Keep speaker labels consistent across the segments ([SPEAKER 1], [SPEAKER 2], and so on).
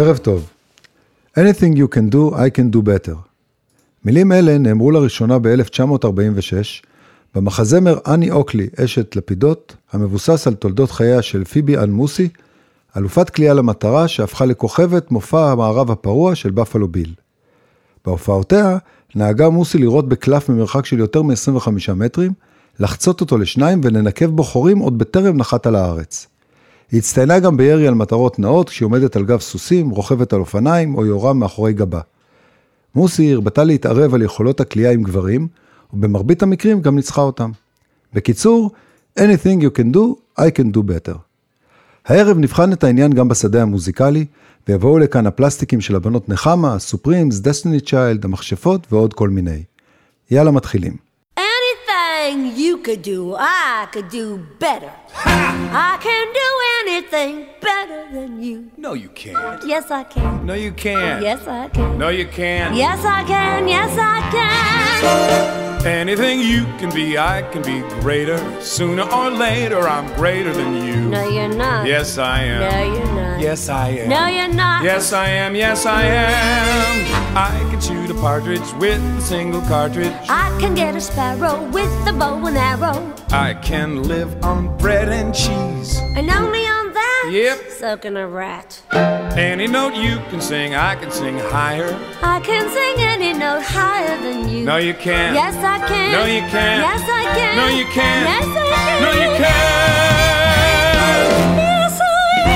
[SPEAKER 1] ערב טוב. Anything you can do, I can do better. מילים אלה נאמרו לראשונה ב-1946, במחזמר אני אוקלי, אשת לפידות, המבוסס על תולדות חייה של פיבי אן מוסי, אלופת קליעה למטרה שהפכה לכוכבת מופע המערב הפרוע של בפלו ביל. בהופעותיה נהגה מוסי לראות בקלף ממרחק של יותר מ-25 מטרים, לחצות אותו לשניים ולנקב בו חורים עוד בטרם נחת על הארץ. היא הצטיינה גם בירי על מטרות נאות כשהיא עומדת על גב סוסים, רוכבת על אופניים או יורה מאחורי גבה. מוסי הרבתה להתערב על יכולות הקליעה עם גברים, ובמרבית המקרים גם ניצחה אותם. בקיצור, anything you can do, I can do better. הערב נבחן את העניין גם בשדה המוזיקלי, ויבואו לכאן הפלסטיקים של הבנות נחמה, הסופרימס, דסטיני צ'יילד, המכשפות ועוד כל מיני. יאללה מתחילים.
[SPEAKER 2] Anything you could do, I could do better. I can do anything better than you.
[SPEAKER 3] No, you can't.
[SPEAKER 2] Yes, I can.
[SPEAKER 3] No, you can't.
[SPEAKER 2] Yes, I can.
[SPEAKER 3] No, you can't.
[SPEAKER 2] Yes, I can. Yes, I can.
[SPEAKER 3] Anything you can be, I can be greater. Sooner or later, I'm greater than you.
[SPEAKER 2] No, you're not.
[SPEAKER 3] Yes, I am.
[SPEAKER 2] No, you're not.
[SPEAKER 3] Yes, I am.
[SPEAKER 2] No, you're not.
[SPEAKER 3] Yes, I am. Yes, I am. I can shoot a partridge with a single cartridge.
[SPEAKER 2] I can get a sparrow with a bow and arrow.
[SPEAKER 3] I can live on bread and cheese.
[SPEAKER 2] And only on that?
[SPEAKER 3] Yep.
[SPEAKER 2] Soaking a rat.
[SPEAKER 3] Any note you can sing, I can sing higher.
[SPEAKER 2] I can sing any note higher than you.
[SPEAKER 3] No, you can't.
[SPEAKER 2] Yes, I can.
[SPEAKER 3] No, you can't.
[SPEAKER 2] Yes, I can.
[SPEAKER 3] No, you can't.
[SPEAKER 2] Yes, I can.
[SPEAKER 3] No, you can't.
[SPEAKER 2] Yes, I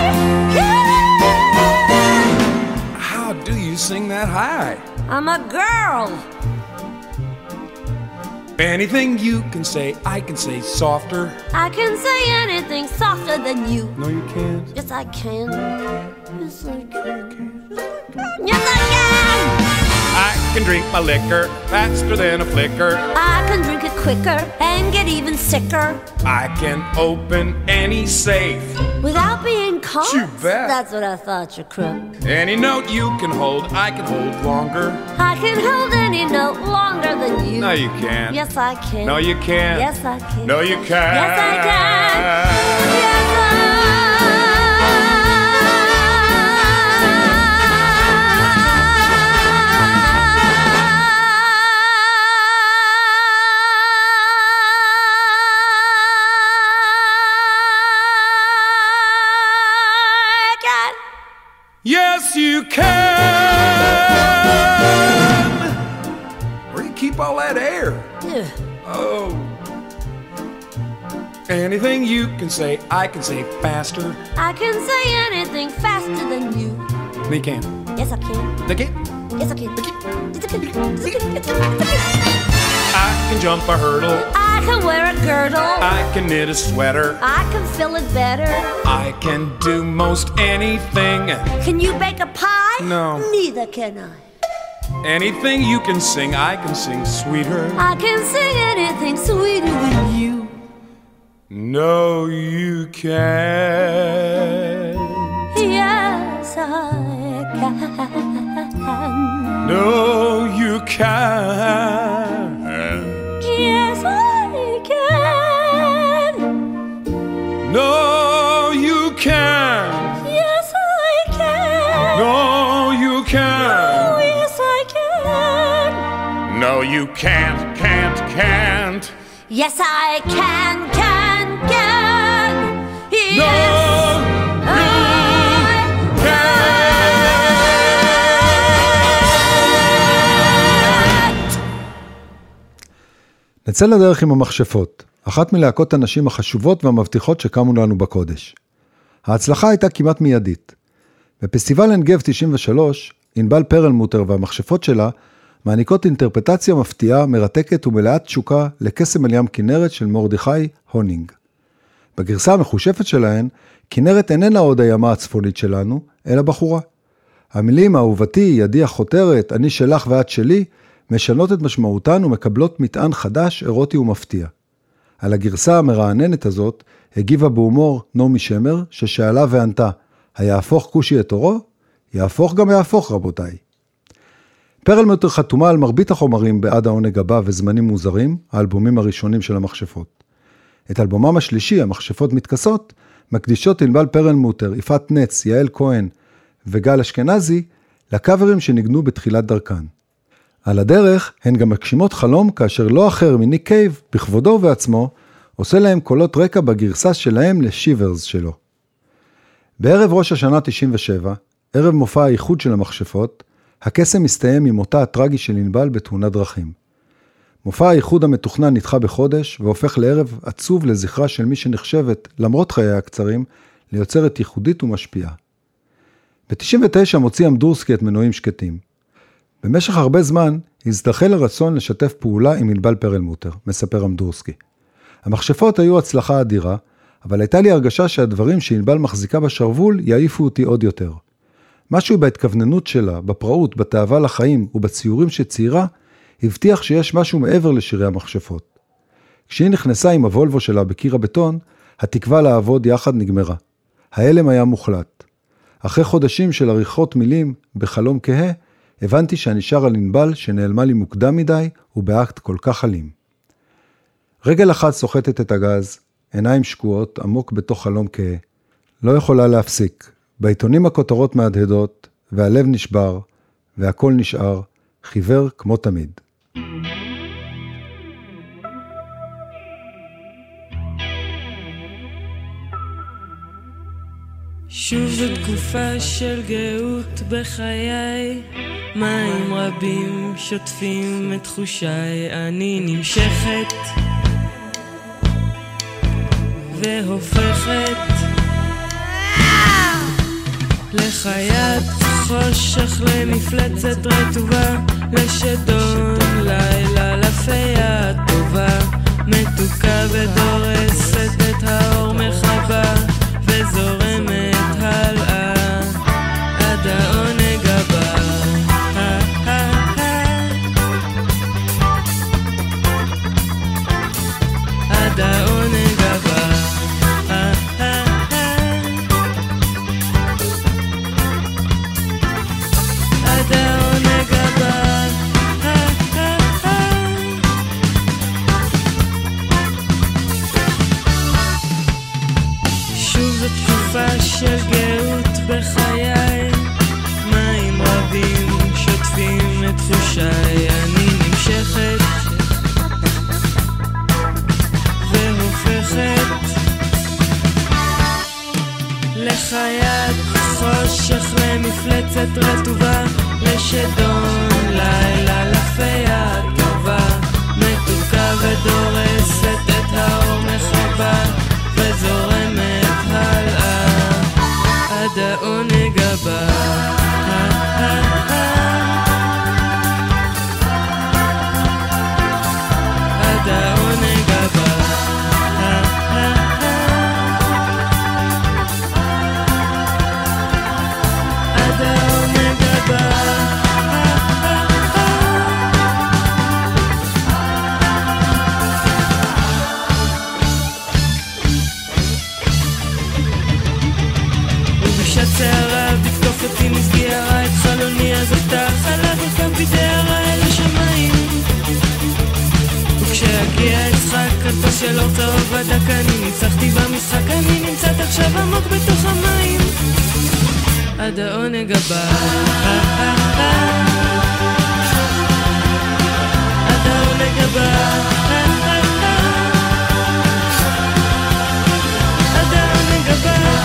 [SPEAKER 2] can.
[SPEAKER 3] How do you sing that high?
[SPEAKER 2] I'm a girl.
[SPEAKER 3] Anything you can say, I can say softer.
[SPEAKER 2] I can say anything softer than you.
[SPEAKER 3] No, you can't.
[SPEAKER 2] Yes, I can. Yes, I can. Yes, I can.
[SPEAKER 3] I can drink my liquor faster than a flicker.
[SPEAKER 2] I can drink it quicker and get even sicker.
[SPEAKER 3] I can open any safe
[SPEAKER 2] Without being caught?
[SPEAKER 3] You bet.
[SPEAKER 2] That's what I thought, you crook.
[SPEAKER 3] Any note you can hold, I can hold longer.
[SPEAKER 2] I can hold any note longer than you.
[SPEAKER 3] No, you can't.
[SPEAKER 2] Yes, I can.
[SPEAKER 3] No, you can't.
[SPEAKER 2] Yes, I can.
[SPEAKER 3] No, you can't.
[SPEAKER 2] Yes, I can. Yes,
[SPEAKER 3] Yes, you can. Where do you keep all that air?
[SPEAKER 2] Yeah.
[SPEAKER 3] Oh. Anything you can say, I can say faster.
[SPEAKER 2] I can say anything faster than you.
[SPEAKER 3] No, you can't.
[SPEAKER 2] Yes, I can.
[SPEAKER 3] They can't.
[SPEAKER 2] Yes, I can. Yes, I can.
[SPEAKER 3] I can jump a hurdle.
[SPEAKER 2] I can wear a girdle.
[SPEAKER 3] I can knit a sweater.
[SPEAKER 2] I can fill it better.
[SPEAKER 3] I can do most anything.
[SPEAKER 2] Can you bake a pie?
[SPEAKER 3] No.
[SPEAKER 2] Neither can I.
[SPEAKER 3] Anything you can sing, I can sing sweeter.
[SPEAKER 2] I can sing anything sweeter than you.
[SPEAKER 3] No, you can't.
[SPEAKER 2] Yes, I can.
[SPEAKER 3] No, you can't.
[SPEAKER 2] Yes, I can.
[SPEAKER 3] No, you can't.
[SPEAKER 2] Yes, I can.
[SPEAKER 3] No, you can't.
[SPEAKER 2] Oh, yes, I can.
[SPEAKER 3] No, you can't, can't.
[SPEAKER 2] Yes, I can. Yes,
[SPEAKER 3] No, you can't.
[SPEAKER 1] נצא לדרך עם המכשפות, אחת מלהקות הנשים החשובות והמבטיחות שקמו לנו בקודש. ההצלחה הייתה כמעט מיידית. בפסטיבל אנגב 93, ענבל פרלמוטר והמכשפות שלה מעניקות אינטרפטציה מפתיעה, מרתקת ומלאת תשוקה לקסם על ים כנרת של מרדכי הונינג. בגרסה המחושפת שלהן, כנרת איננה עוד הימה הצפונית שלנו, אלא בחורה. המילים אהובתי, ידי החותרת, אני שלך ואת שלי, משנות את משמעותן ומקבלות מטען חדש, אירוטי ומפתיע. על הגרסה המרעננת הזאת, הגיבה בהומור נעמי שמר, ששאלה וענתה, היהפוך כושי את אורו? יהפוך גם יהפוך רבותיי. פרלמוטר חתומה על מרבית החומרים בעד העונג הבא וזמנים מוזרים, האלבומים הראשונים של המכשפות. את אלבומם השלישי, המכשפות מתכסות, מקדישות ענבל פרלמוטר, יפעת נץ, יעל כהן וגל אשכנזי לקאברים שניגנו בתחילת דרכן. על הדרך הן גם מגשימות חלום כאשר לא אחר מניק קייב, בכבודו ובעצמו, עושה להם קולות רקע בגרסה שלהם לשיברס שלו. בערב ראש השנה 97, ערב מופע האיחוד של המכשפות, הקסם מסתיים עם מותה הטרגי של ענבל בתאונת דרכים. מופע האיחוד המתוכנן נדחה בחודש והופך לערב עצוב לזכרה של מי שנחשבת, למרות חיי הקצרים, ליוצרת ייחודית ומשפיעה. ב-99 מוציא אמדורסקי את מנועים שקטים. במשך הרבה זמן הזדחל הרצון לשתף פעולה עם ענבל פרלמוטר, מספר אמדורסקי. המכשפות היו הצלחה אדירה, אבל הייתה לי הרגשה שהדברים שענבל מחזיקה בשרוול יעיפו אותי עוד יותר. משהו בהתכווננות שלה, בפראות, בתאווה לחיים ובציורים שציירה, הבטיח שיש משהו מעבר לשירי המכשפות. כשהיא נכנסה עם הוולבו שלה בקיר הבטון, התקווה לעבוד יחד נגמרה. ההלם היה מוחלט. אחרי חודשים של עריכות מילים בחלום כהה, הבנתי שאני שר על ענבל שנעלמה לי מוקדם מדי ובאקט כל כך אלים. רגל אחת סוחטת את הגז, עיניים שקועות עמוק בתוך חלום כהה. לא יכולה להפסיק. בעיתונים הכותרות מהדהדות, והלב נשבר, והכל נשאר, חיוור כמו תמיד.
[SPEAKER 4] שוב זו תקופה של גאות בחיי, מים רבים שוטפים את תחושיי, אני נמשכת והופכת לחיית חושך, למפלצת רטובה, לשדון לילה, לפיה טובה, מתוקה ודורסת את האור מחבה וזורמת הלאה עד העונג הבא. עד העונג הבא. עד העונג הבא. שוב זו תקופה של גאות בחיי, מים רבים שוטפים את תחושיי, אני נמשכת והופכת לחיית חושך, למפלצת רטובה, לשדון לילה, לפיה טובה, מתוקה ודורסת את האור מחבה וזורמת הלאה עד העונג הבא. עד העונג הבא. עד העונג הבא. שערה בתקוף אותי מסגירה את חלוני, אז אותה חלק וקם בדהרה אל השמיים, וכשהגיע יצחק כתו של אור צהוב הדק, אני ניצחתי במשחק, אני נמצאת עכשיו עמוק בתוך המים עד העונג הבא. עד העונג הבא. עד העונג הבא.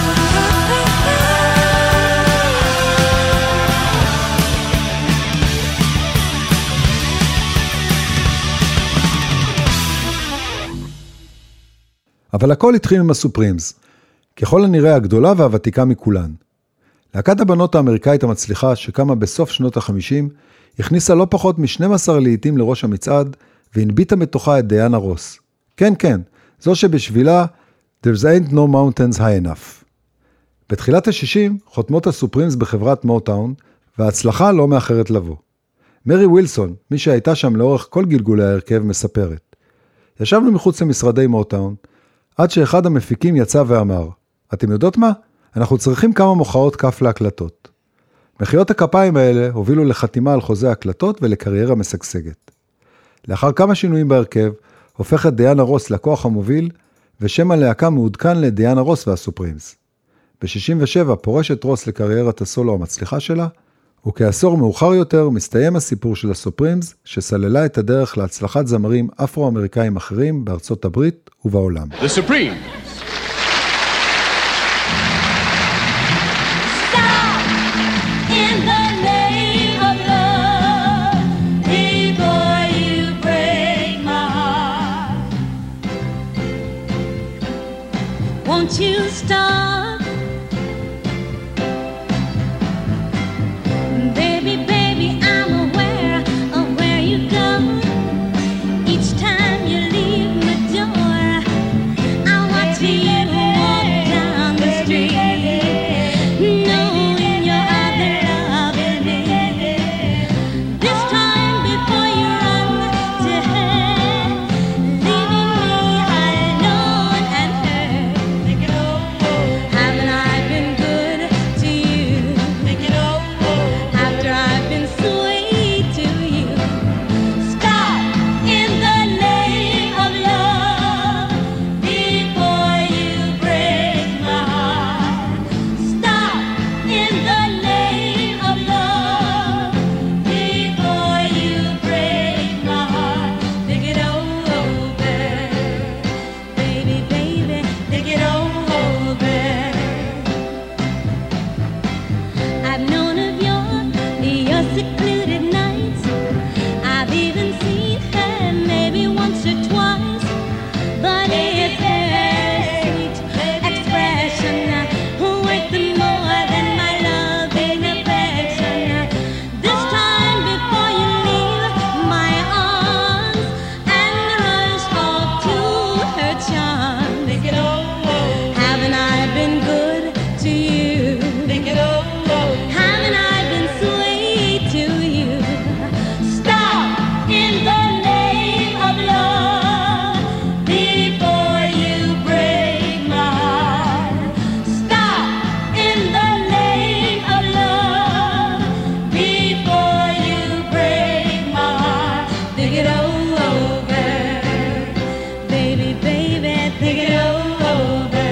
[SPEAKER 1] אבל הכל התחיל עם הסופרימס, ככל הנראה הגדולה והוותיקה מכולן. להקת הבנות האמריקאית המצליחה שקמה בסוף שנות ה-50, הכניסה לא פחות מ-12 לעיתים לראש המצעד, והנביטה מתוכה את דיאנה רוס. כן, כן, זו שבשבילה There's ain't no mountains high enough. בתחילת ה-60 חותמות הסופרימס בחברת מוטאון, וההצלחה לא מאחרת לבוא. מרי ווילסון, מי שהייתה שם לאורך כל גלגולי ההרכב, מספרת. ישבנו מחוץ למשרדי מוטאון, עד שאחד המפיקים יצא ואמר, אתם יודעות מה? אנחנו צריכים כמה מוחאות כף להקלטות. מחיאות הכפיים האלה הובילו לחתימה על חוזה הקלטות ולקריירה משגשגת. לאחר כמה שינויים בהרכב, הופכת דיאנה רוס לכוח המוביל, ושם הלהקה מעודכן לדיאנה רוס והסופרימס. ב-67 פורשת רוס לקריירת הסולו המצליחה שלה, וכעשור מאוחר יותר מסתיים הסיפור של הסופרימס, שסללה את הדרך להצלחת זמרים אפרו-אמריקאים אחרים בארצות הברית ובעולם.
[SPEAKER 5] The Supremes.
[SPEAKER 2] Won't you stop? Baby, baby, I'm aware of where you go. Each time you leave my door, I watch you walk down the street, knowing your other love is me. This time before you run to her, leaving me alone and hurt. Haven't I been good to you? After I've been sweet to you. Stop in the name of love before you break my heart. Stop in the name of love before you break my heart. Think it over, baby, baby, think it over. I've known of your secluded nights. I've even seen her maybe once or twice. But it's her sweet expression worth more than my love and affection. This time before you leave my arms and rush off to her charms. Think it over. Haven't I been good to you? Think it over. Haven't I been sweet to you? Stop in the name of love before you break my heart. Stop in the name of love before you break my heart. Think it over, baby, baby, think it over.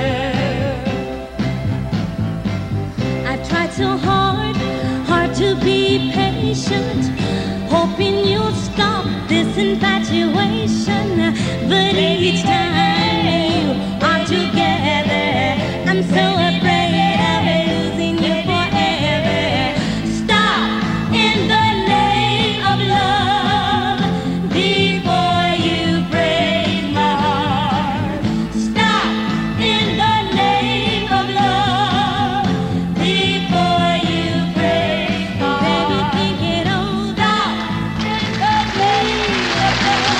[SPEAKER 2] I've tried so hard to be patient, hoping you'll stop this infatuation. But each time you are together, I'm so afraid of losing you forever. Stop in the name of love before you break my heart. Stop in the name of love before you break my heart. Baby, think it over. In the name of love.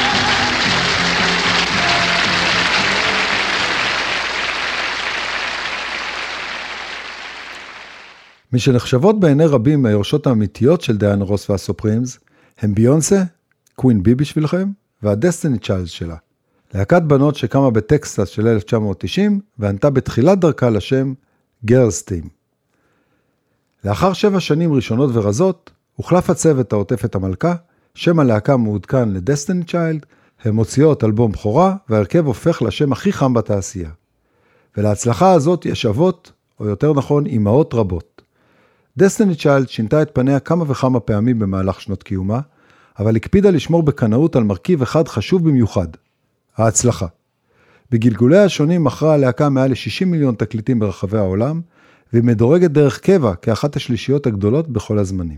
[SPEAKER 1] מי שנחשבות בעיני רבים מהיורשות האמיתיות של דיאנה רוס והסופרימס, הם ביונסה, קווין בי בשבילכם, והדסטיני צ'יילדס שלה. להקת בנות שקמה בטקסס של 1990, וענתה בתחילת דרכה לשם גרלס טים. לאחר 7 שנים ראשונות ורזות, הוחלף הצוות העוטף את המלכה, שם הלהקה מעודכן לדסטיני צ'יילד, הם מוציאות אלבום בכורה, והרכב הופך לשם הכי חם בתעשייה. ולהצלחה הזאת יש אבות, או יותר נכון, אמהות רבות. דסטיני צ'יילד שינתה את פניה כמה וכמה פעמים במהלך שנות קיומה, אבל הקפידה לשמור בקנאות על מרכיב אחד חשוב במיוחד, ההצלחה. בגלגולי השונים מכרה הלהקה מעל ל-60 מיליון תקליטים ברחבי העולם, והיא מדורגת דרך קבע כאחת השלישיות הגדולות בכל הזמנים.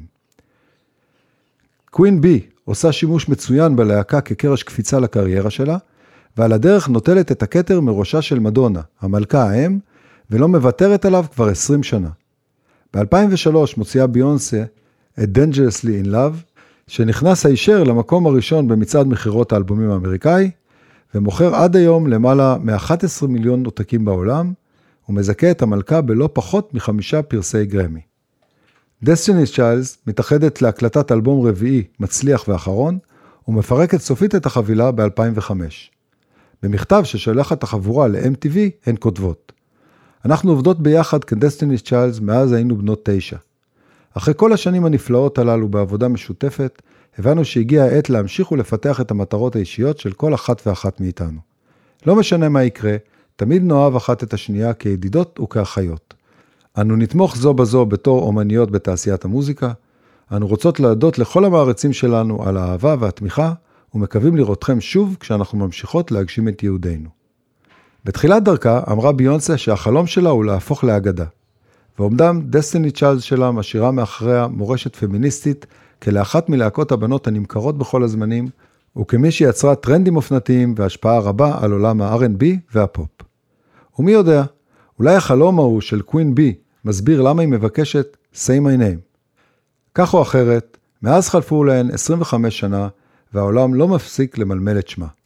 [SPEAKER 1] קווין בי עושה שימוש מצוין בלהקה כקרש קפיצה לקריירה שלה, ועל הדרך נוטלת את הכתר מראשה של מדונה, המלכה האם, ולא מוותרת עליו כבר 20 שנה. ב-2003 מוציאה ביונסה את Dangerously in Love, שנכנס הישר למקום הראשון במצעד מחירות האלבומים האמריקאי, ומוכר עד היום למעלה מ-11 מיליון עותקים בעולם, ומזכה את המלכה בלא פחות מ5 פרסי גרמי. Destiny's Child מתאחדת להקלטת אלבום רביעי מצליח ואחרון, ומפרקת סופית את החבילה ב-2005. במכתב ששלחת החבורה ל-MTV הן כותבות: אנחנו עובדות ביחד כ-Destiny's Child מאז היינו בנות 9. אחרי כל השנים הנפלאות הללו בעבודה משותפת, הבנו שהגיע העת להמשיך ולפתח את המטרות האישיות של כל אחת ואחת מאיתנו. לא משנה מה יקרה, תמיד נאהב אחת את השנייה כידידות וכאחיות. אנו נתמוך זו בזו בתור אומניות בתעשיית המוזיקה, אנו רוצות להודות לכל המעריצים שלנו על האהבה והתמיכה, ומקווים לראותכם שוב כשאנחנו ממשיכות להגשים את יהודינו. בתחילת דרכה אמרה ביונסה שהחלום שלה הוא להפוך לאגדה, ועומדם דסטיני צ'יילד שלה משאירה מאחריה מורשת פמיניסטית כלאחת מלהקות הבנות הנמכרות בכל הזמנים, וכמי שיצרה טרנדים אופנתיים והשפעה רבה על עולם ה-R&B והפופ. ומי יודע, אולי החלום ההוא של קווין בי מסביר למה היא מבקשת Say My Name. כך או אחרת, מאז חלפו להן 25 שנה, והעולם לא מפסיק למלמל את שמה.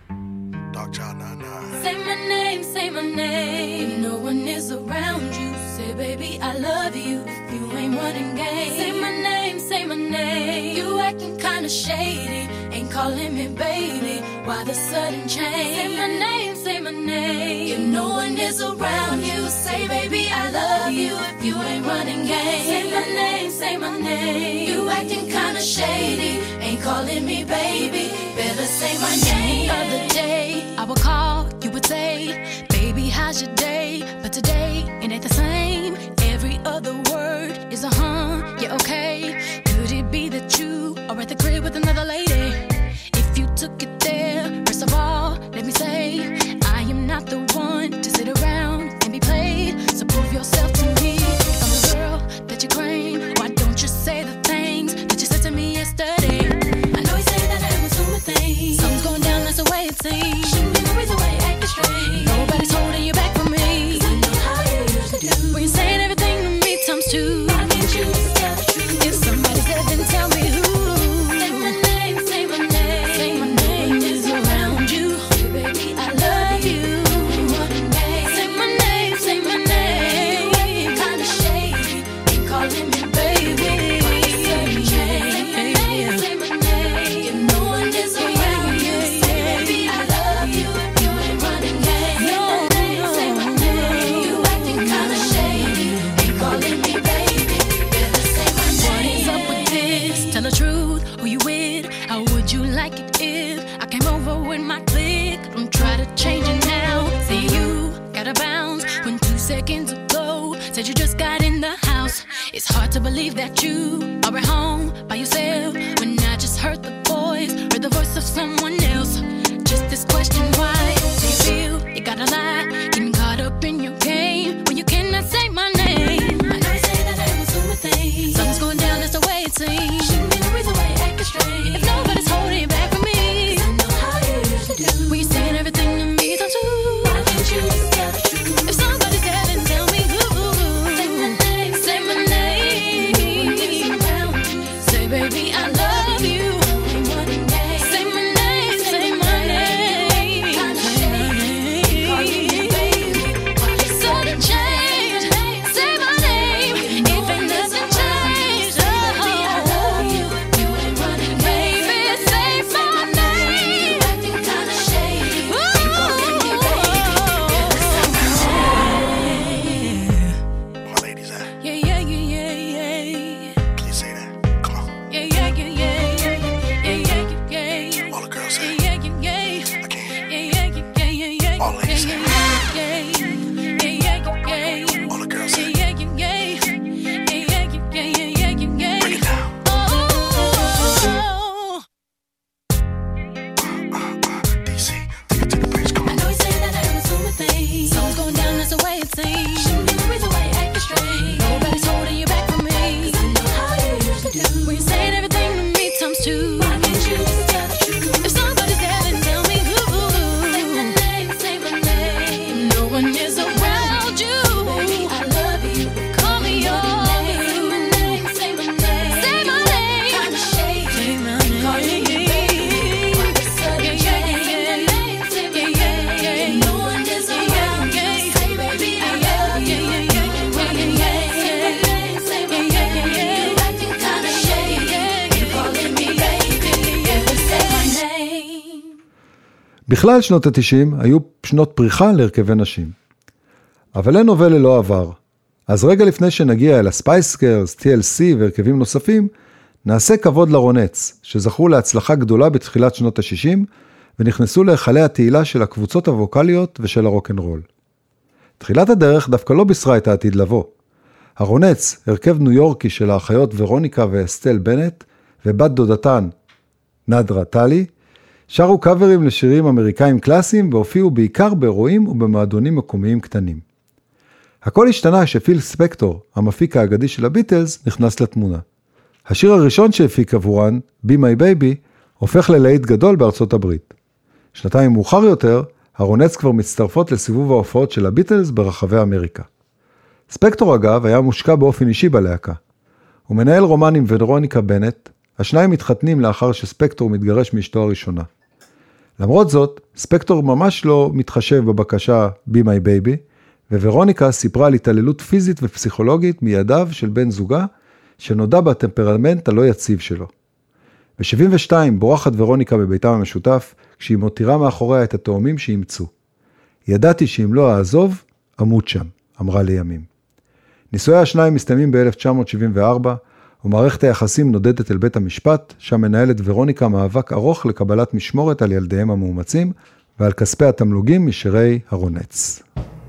[SPEAKER 2] Say my name, say my name. If no one is around you, say baby I love you. If you ain't running game, say my name, say my name. You acting kinda shady, ain't calling me baby. Why the sudden change? Say my name, say my name. If no one is around you, say baby I love you. If you ain't running game, say my name, say my name. You acting kinda shady, ain't calling me baby. Better say my name. The other day I would call, you would say, baby, how's your day? But today, it ain't the same. Every other word is a yeah, okay. Could it be that you are at the crib with another lady? If you took it there, first of all, let me say, I am not the one to sit around and be played. So prove yourself to me. If I'm the girl that you claim, why don't you say the things that you said to me yesterday? I know you say that I was doing things. Something's going down, that's the way it seems. Shouldn't be the reason why you're acting strange. Nobody's holding you back from me. 'Cause I know how you used to do. When you're saying everything to me times two. Why can't you just tell the truth? If somebody's there, then tell me who. Say my name, say my name. Say my name is around you. Hey, baby, I love you. Say my name, say my name. You acting kinda shady, ain't calling me baby. Say my name, say my name. If no one is around you, say baby I love you. If you ain't running game, say my name. You acting kinda shady, ain't calling me baby. Better say my name. What is up with this? Tell the truth, who you with? How would you like it if I came over with my clique? Don't try to change it now. See you got a bounce when 2 seconds ago said you just got in the house. It's hard to believe that you are at home by yourself when I just heard the voice of someone else. Just this question, why do you feel you gotta lie? Getting caught up in your game when you cannot say my name. I know you say that I was doing things. Something's going down, that's the way it seems. Shouldn't be the reason why you're acting strange. If nobody's holding you back from me, 'cause I know how you used to do. When you're saying everything to me, don't you? Why can't you just tell the truth? If somebody's there, then tell me who. Say my name, say my name. Say baby I love you. Say my name, say my name. Sudden change, say my name. If ain't nothing changed, baby I love you. You ain't running, baby. Say my name. Acting kinda shady, ain't calling me baby.
[SPEAKER 5] My ladies at?
[SPEAKER 2] Yeah, yeah, yeah, yeah, yeah.
[SPEAKER 5] Can you say that? Come on.
[SPEAKER 2] Yeah, yeah, yeah, yeah, yeah, yeah, yeah, yeah, yeah.
[SPEAKER 5] All the girls say.
[SPEAKER 2] Yeah, yeah, yeah.
[SPEAKER 5] I can't.
[SPEAKER 2] Yeah, yeah, yeah, yeah, yeah.
[SPEAKER 5] All ladies say.
[SPEAKER 2] Yeah, yeah, yeah, yeah.
[SPEAKER 5] All the girls say.
[SPEAKER 2] Yeah, yeah, yeah. Yeah, yeah, yeah, yeah, yeah.
[SPEAKER 5] Break it down.
[SPEAKER 2] Oh.
[SPEAKER 5] DC, take it to the bridge. Come
[SPEAKER 2] I
[SPEAKER 5] on.
[SPEAKER 2] know you say that I was doing things. Something's going down, that's the way it seems. Shouldn't be the reason why you're acting strange. Nobody's holding you back from me. 'Cause I know how you used to do. When you're saying everything to me times two. Why can't you just tell the truth? If somebody's there, then tell me who. Say my name, say my name. No one is around you. Baby, I love you. Call me yours. Say my name, say my name. Say my name. Kinda shady. Say my name. Calling me baby. Why the sudden change? Say my name, say my name. No one is around you. Say baby, I love you. You ain't running game. Say my name, say my name. You acting kinda shady. You calling me baby. Better say my name.
[SPEAKER 1] בכלל שנות ה-90 היו שנות פריחה להרכבי נשים. אבל אין הווה ללא עבר. אז רגע לפני שנגיע אל הספייס גרלס, TLC והרכבים נוספים, נעשה כבוד לרונץ, שזכו להצלחה גדולה בתחילת שנות ה-60, ונכנסו להיכלי התהילה של הקבוצות הווקליות ושל הרוק'נ'רול. תחילת הדרך דווקא לא בישרה את העתיד לבוא. הרונץ, הרכב ניו יורקי של האחיות ורוניקה ואסטל בנט, ובת דודתן, נדרה טלי, שרו קאברים לשירים אמריקאים קלאסיים, והופיעו בעיקר באירועים ובמועדונים מקומיים קטנים. הכל השתנה כשפיל ספקטור, המפיק האגדי של הביטלס, נכנס לתמונה. השיר הראשון שהפיק עבורן, Be My Baby, הופך ללהיט גדול בארצות הברית. שנתיים מאוחר יותר, הרונץ כבר מצטרפות לסיבוב ההופעות של הביטלס ברחבי אמריקה. ספקטור אגב היה מושקע באופן אישי בלהקה. הוא מנהל רומן עם ורוניקה בנט, השניים מתחתנים לאחר שספקטור מתגרש מאשתו הראשונה. למרות זאת, ספקטור ממש לא מתחשב בבקשה Be My Baby, וורוניקה סיפרה על התעללות פיזית ופסיכולוגית מידיו של בן זוגה, שנודע בטמפרמנט הלא יציב שלו. ב-72 בורחת ורוניקה בביתם המשותף, כשהיא מותירה מאחוריה את התאומים שאימצו. ידעתי שאם לא אעזוב, אמות שם, אמרה לימים. נישואי השניים מסתיימים ב-1974, ומערכת היחסים נודדת אל בית המשפט, שם מנהלת ורוניקה מאבק ארוך לקבלת משמורת על ילדיהם המאומצים, ועל כספי התמלוגים משירי הרונץ.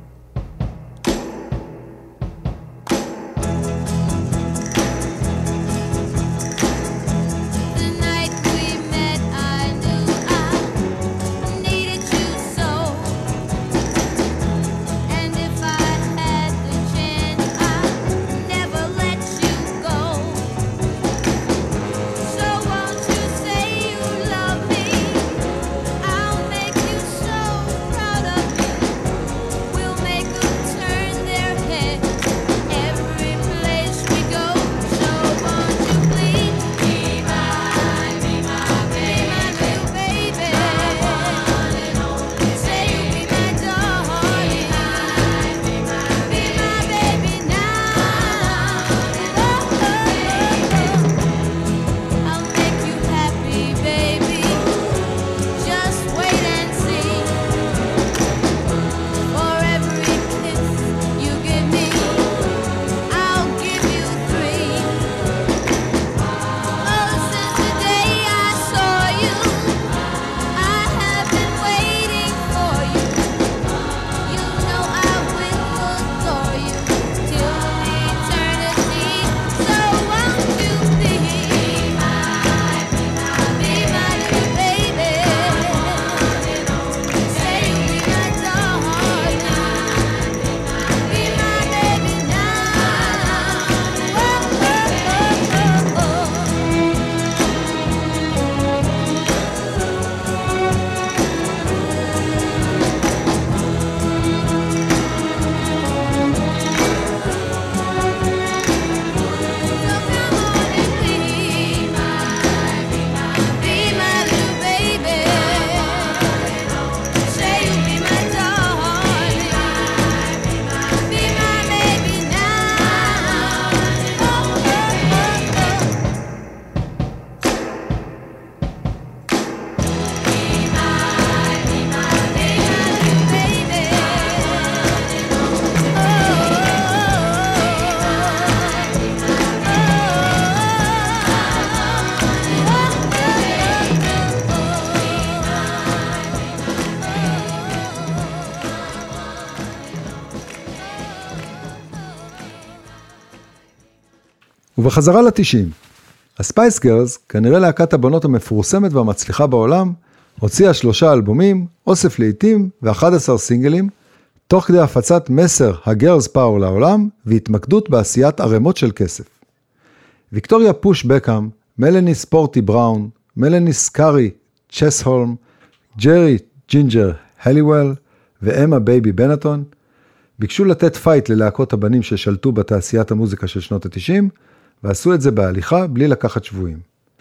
[SPEAKER 1] ובחזרה ל-90, הספייס גרלס, כנראה להקת הבנות המפורסמת והמצליחה בעולם, הוציאה 3 אלבומים, אוסף לעיתים ו11 סינגלים, תוך כדי הפצת מסר הגרלס פאור לעולם, והתמקדות בעשיית ערימות של כסף. ויקטוריה פוש בקאם, מלני ספורטי בראון, מלני סקארי צ'סהולם, ג'רי ג'ינג'ר הליוול ואמה בייבי בנטון, ביקשו לתת פייט ללהקות הבנים ששלטו בתעשיית המוזיקה של שנות ה-90, ועשו את זה בהליכה בלי לקחת שבויים.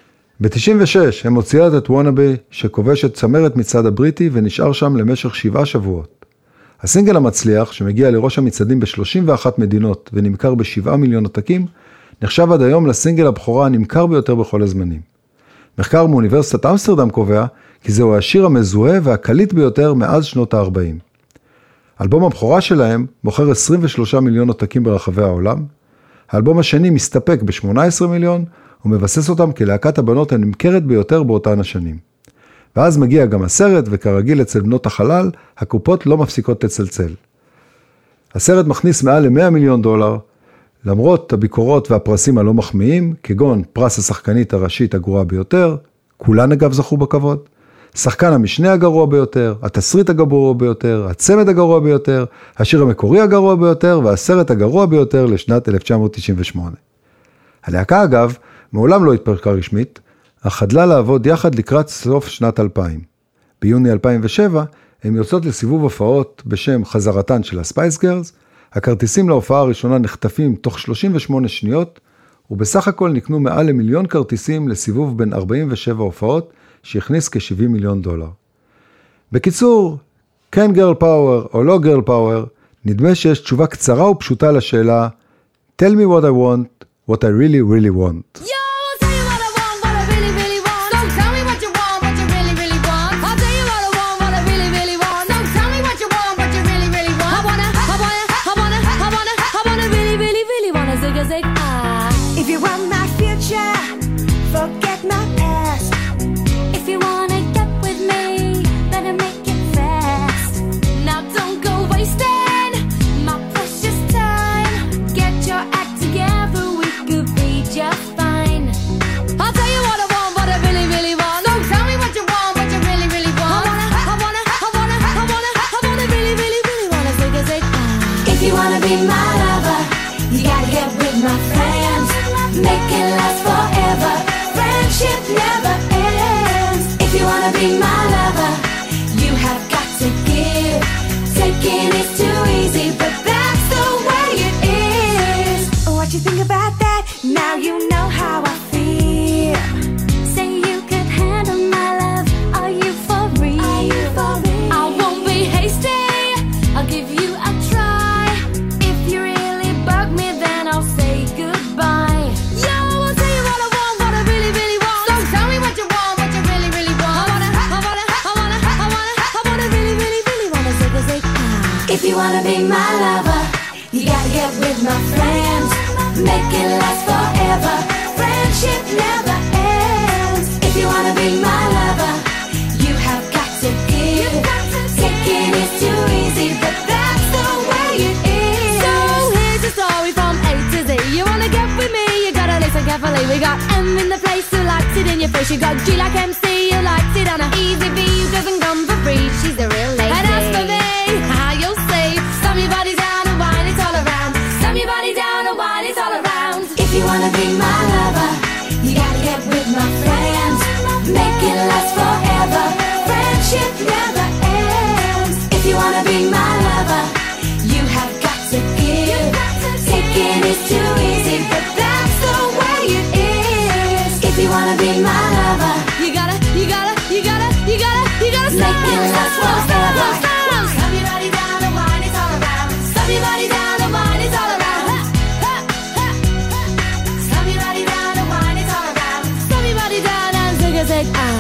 [SPEAKER 1] ב-96 הם הוציאות את וונאבי שכובש את צמרת מצד הבריטי ונשאר שם למשך 7 שבועות. הסינגל המצליח שמגיע לראש המצעדים ב-31 מדינות ונמכר ב7 מיליון עותקים, נחשב עד היום לסינגל הבכורה הנמכר ביותר בכל הזמנים. מחקר מאוניברסיטת אמסטרדם קובע כי זהו השיר המזוהה והקליט ביותר מאז שנות ה-40. אלבום הבכורה שלהם מוכר 23 מיליון עותקים ברחבי העולם. האלבום השני מסתפק ב-18 מיליון, ומבסס אותם כלהקת הבנות הנמכרת ביותר באותן השנים. ואז מגיע גם הסרט, וכרגיל אצל בנות החלל, הקופות לא מפסיקות לצלצל. הסרט מכניס מעל ל$100 מיליון, למרות הביקורות והפרסים הלא מחמיאים, כגון פרס השחקנית הראשית הגרועה ביותר, כולן אגב זכו בכבוד, שחקן המשנה הגרוע ביותר, התסריט הגרוע ביותר, הצמד הגרוע ביותר, השיר המקורי הגרוע ביותר, והסרט הגרוע ביותר לשנת 1998. הלהקה אגב, מעולם לא התפרקה רשמית, אך חדלה לעבוד יחד לקראת סוף שנת 2000. ביוני 2007 הם יוצאות לסיבוב הופעות בשם חזרתן של הספייס גרלס, הכרטיסים להופעה הראשונה נחטפים תוך 38 שניות, ובסך הכל נקנו מעל ל1,000,000 כרטיסים לסיבוב בין 47 הופעות, שהכניס כ$70 מיליון. בקיצור, כן גרל פאוור או לא גרל פאוור, נדמה שיש תשובה קצרה ופשוטה לשאלה, Tell me what I want, what I really really want.
[SPEAKER 2] Yo, I'll tell you what I want, what I really, really want. Don't tell me what you want, what you really, really want. I'll tell you what I want, what I really, really want. Don't tell me what you want, what you really, really want. I wanna really, really, really wanna zig a zig ah.
[SPEAKER 6] If you want my future, forget my past.
[SPEAKER 2] If you wanna get with me, better make it fast. Now don't go wasting my precious time. Get your act together, we could be just fine. I'll tell you what I want, what I really, really want. Don't tell me what you want, what you really, really want. I wanna really, really, really wanna zig a zig ah.
[SPEAKER 6] If you wanna be my lover, you gotta get with my friends. Make it last forever. Friendship never ends. If you wanna be my lover, you have got to give. Taking is too easy, but that's the way it is. What you think about that? Now you know how I feel.
[SPEAKER 2] Say you could handle my love. Are you for real?
[SPEAKER 6] Are you for real?
[SPEAKER 2] I won't be hasty. I'll give you a try. If you really bug me, then I'll say goodbye. Yo, I'll tell you what I want, what I really, really want. Don't tell me what you want, what you really, really want. I wanna really, really, really wanna zig a zig ah.
[SPEAKER 6] If you wanna be my lover, you gotta get with my friends. Make it last forever. Friendship never ends. If you wanna be my lover, you have got to give. Taking is too easy, but that's the way it is.
[SPEAKER 2] So here's the story from A to Z. You wanna get with me, you gotta listen carefully. We got M in the place who likes it in your face. You got G like MC, who likes it on a easy V, who doesn't come for free. She's the real lady. And as for me, how you'll see, slam your body down and wine it all around. Slam your body down and wine it all around.
[SPEAKER 6] If you wanna be my lover, you gotta get with my friends. Make it last forever. Friendship never ends. If you wanna be my lover, you have got to give. Taking is too easy, but that's the way it is. If you wanna be my lover,
[SPEAKER 2] You gotta
[SPEAKER 6] make it last forever.
[SPEAKER 2] Slam your body down and wine it all around. Slam your body down and wine it all around. Slam your body down and wine it all around. Slam your body down and zig a zig ah.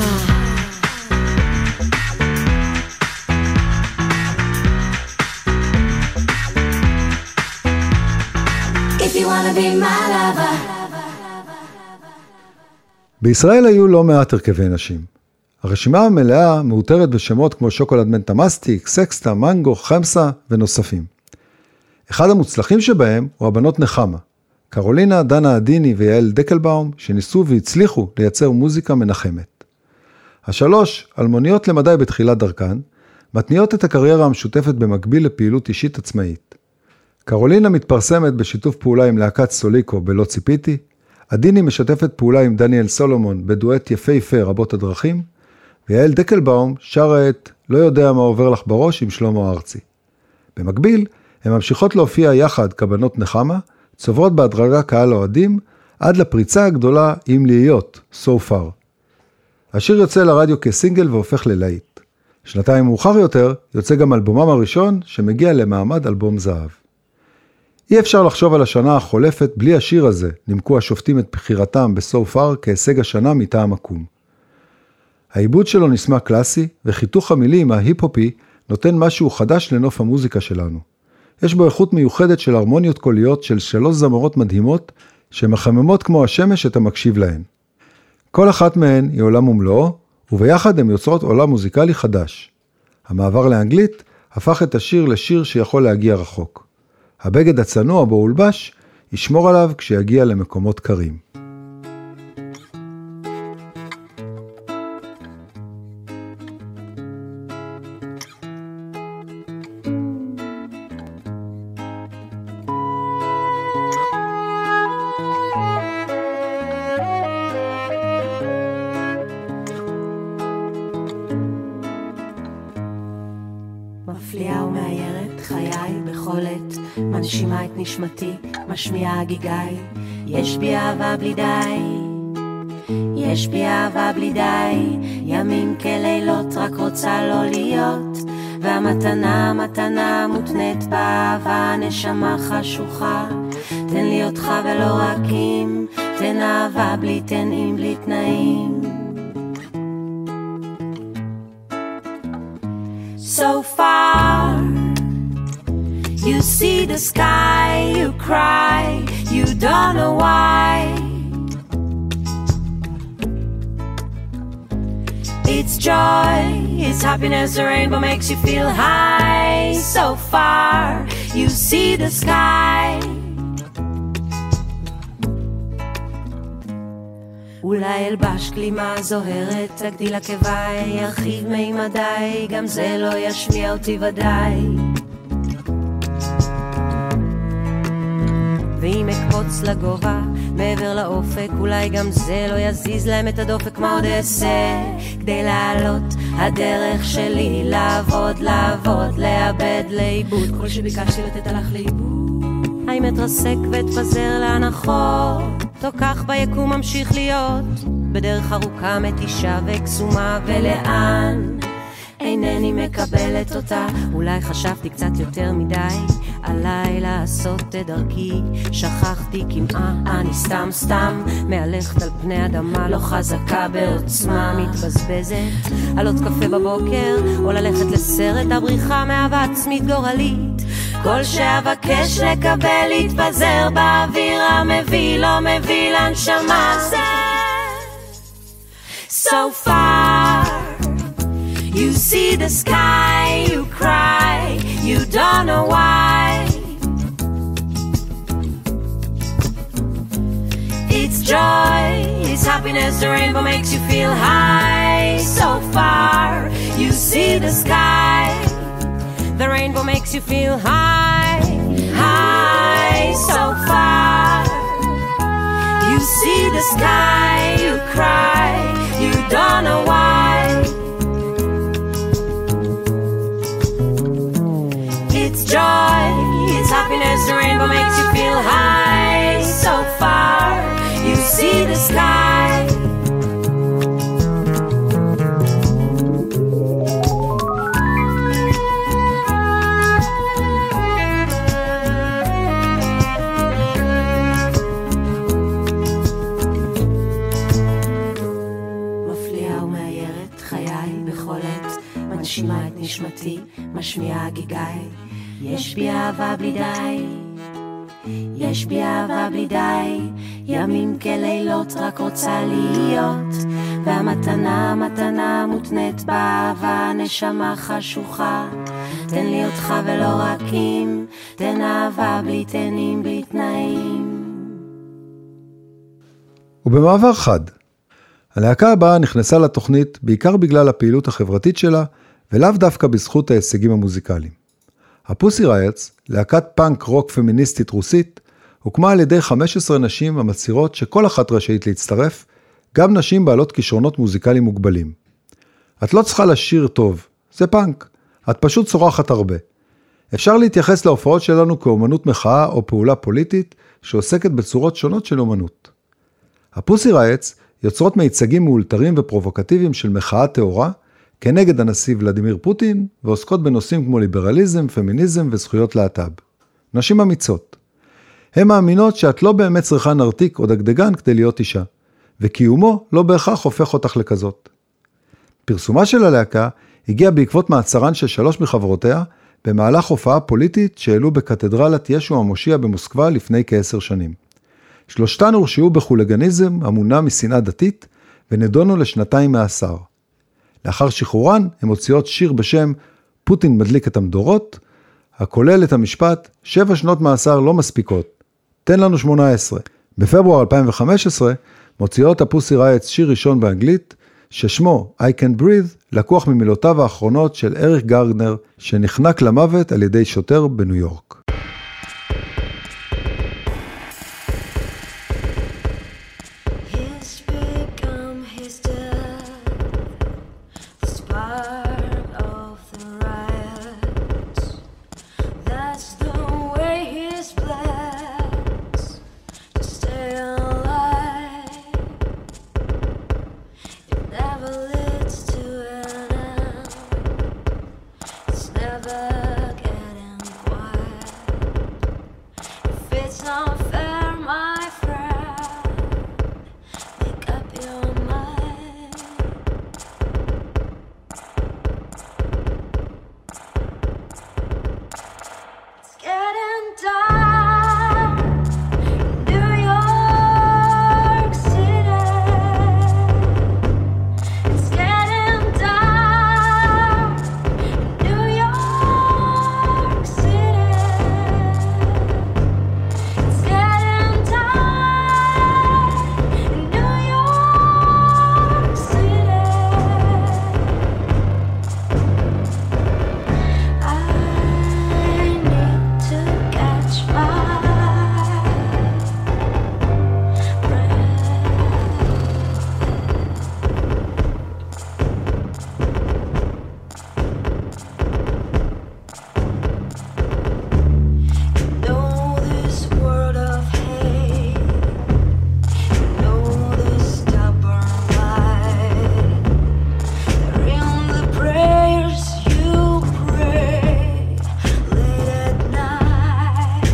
[SPEAKER 6] If you wanna be my lover.
[SPEAKER 1] בישראל היו לא מעט הרכבי נשים. הרשימה המלאה מאותרת בשמות כמו שוקולד מנטה מסטיק, סקסטה, מנגו, חמסה ונוספים. אחד המוצלחים שבהם הוא הבנות נחמה, קרולינה, דנה עדיני ויעל דקלבאום, שניסו והצליחו לייצר מוזיקה מנחמת. השלוש, אלמוניות למדי בתחילת דרכן, מתניעות את הקריירה המשותפת במקביל לפעילות אישית עצמאית. קרולינה מתפרסמת בשיתוף פעולה עם להקת סוליקו בלא ציפיתי, עדיני משתפת פעולה עם דניאל סולומון בדואט יפהפה רבות הדרכים, ויעל דקלבאום שרה את לא יודע מה עובר לך בראש עם שלמה ארצי. במקביל, הן ממשיכות להופיע יחד כבנות נחמה, צוברות בהדרגה קהל אוהדים, עד לפריצה הגדולה עם להיות, so far. השיר יוצא לרדיו כסינגל והופך ללהיט. שנתיים מאוחר יותר יוצא גם אלבומם הראשון שמגיע למעמד אלבום זהב. אי אפשר לחשוב על השנה החולפת בלי השיר הזה, נימקו השופטים את בחירתם בסו פאר כהישג השנה מטעם הקום. העיבוד שלו נשמע קלאסי, וחיתוך המילים ההיפ-הופי נותן משהו חדש לנוף המוזיקה שלנו. יש בו איכות מיוחדת של הרמוניות קוליות של 3 זמרות מדהימות, שמחממות כמו השמש את המקשיב להן. כל אחת מהן היא עולם ומלואו, וביחד הן יוצרות עולם מוזיקלי חדש. המעבר לאנגלית הפך את השיר לשיר שיכול להגיע רחוק. הבגד הצנוע בו הולבש ישמור עליו כשיגיע למקומות קרים.
[SPEAKER 7] מפליאה ומאיירת חיי בכל עת, מנשימה את נשמתי, משמיעה גיגי. יש בי אהבה בלי די, יש בי אהבה בלי די, ימים כלילות רק רוצה לא להיות, והמתנה מתנה מותנית באהבה, נשמה חשוכה. תן לי אותך ולא רק אם, תן אהבה בלי תנאים בלי תנאים. So far, you see the sky, you cry, you don't know why. It's joy, it's happiness, the rainbow makes you feel high. So far, you see the sky. אולי אלבש כלימה זוהרת, תגדיל עקביי, ירחיב מימדיי, גם זה לא ישמיע אותי ודאי. ואם אקפוץ לגובה, מעבר לאופק, אולי גם זה לא יזיז להם את הדופק. מה עוד אעשה כדי לעלות? הדרך שלי לעבוד, לעבוד, לאבד, לאיבוד. כל שביקשתי לתת הלך לאיבוד. האם אתרסק ואתפזר להנחות? או כך ביקום ממשיך להיות בדרך ארוכה מתישה וקסומה, ולאן אינני מקבלת אותה. אולי חשבתי קצת יותר מדי עליי לעשות את דרכי, שכחתי כמעה, אני סתם מהלכת על פני אדמה, לא חזקה בעוצמה, מתבזבזת על עוד קפה בבוקר או ללכת לסרט, הבריחה מאהבה עצמית גורלית. כל שאבקש לקבל להתפזר באוויר המביא, לא מביא לנשמה. So far, you see the sky, you cry, you don't know why. It's joy, it's happiness, the rainbow makes you feel high. So far, you see the sky, the rainbow makes you feel high, high. So far, you see the sky, you cry, you don't know why. It's joy, it's happiness, the rainbow makes you feel high. So far, you see the sky. מנשימה את נשמתי, משמיעה גיגי. יש בי אהבה בלי די, יש בי אהבה בלי די, ימים כלילות רק רוצה להיות, והמתנה מתנה מותנית באהבה, נשמה חשוכה. תן לי אותך ולא רק אם, תן אהבה בלי תנים בלי תנאים.
[SPEAKER 1] ובמעבר חד, הלהקה הבאה נכנסה לתוכנית בעיקר בגלל הפעילות החברתית שלה, ולאו דווקא בזכות ההישגים המוזיקליים. הפוסי רייטס, להקת פאנק רוק פמיניסטית רוסית, הוקמה על ידי 15 נשים המצהירות שכל אחת רשאית להצטרף, גם נשים בעלות כישרונות מוזיקליים מוגבלים. את לא צריכה לשיר טוב, זה פאנק, את פשוט צורחת הרבה. אפשר להתייחס להופעות שלנו כאומנות מחאה או פעולה פוליטית, שעוסקת בצורות שונות של אומנות. הפוסי רייטס יוצרות מיצגים מאולתרים ופרובוקטיביים של מחאה תאורה, כנגד הנשיא ולדימיר פוטין, ועוסקות בנושאים כמו ליברליזם, פמיניזם וזכויות להט"ב. נשים אמיצות. הן מאמינות שאת לא באמת צריכה נרתיק או דגדגן כדי להיות אישה, וקיומו לא בהכרח הופך אותך לכזאת. פרסומה של הלהקה הגיע בעקבות מעצרן של 3 מחברותיה, במהלך הופעה פוליטית שהעלו בקתדרלת ישו המושיע במוסקבה לפני כ10 שנים. 3 הורשעו בחוליגניזם המונע משנאה דתית, ונדונו ל2 מאסר. לאחר שחרורן, הם הוציאות שיר בשם פוטין מדליק את המדורות, הכולל את המשפט 7 שנות מאסר לא מספיקות, תן לנו 18. בפברואר 2015 מוציאות הפוסי רייטס שיר ראשון באנגלית, ששמו I Can Breathe, לקוח ממילותיו האחרונות של אריק גרדנר, שנחנק למוות על ידי שוטר בניו יורק.
[SPEAKER 6] His become his death, the spark of the riots. That's the way he's blessed to stay alive. It never leads to an end. It's never getting quiet. If it's not fair, my friend, make up your mind. It's getting dark in New York City. It's getting dark in New York City. It's getting dark in New York City. I need to catch my breath. Know this world of hate. Know this stubborn light. They're in the prayers you pray late at night.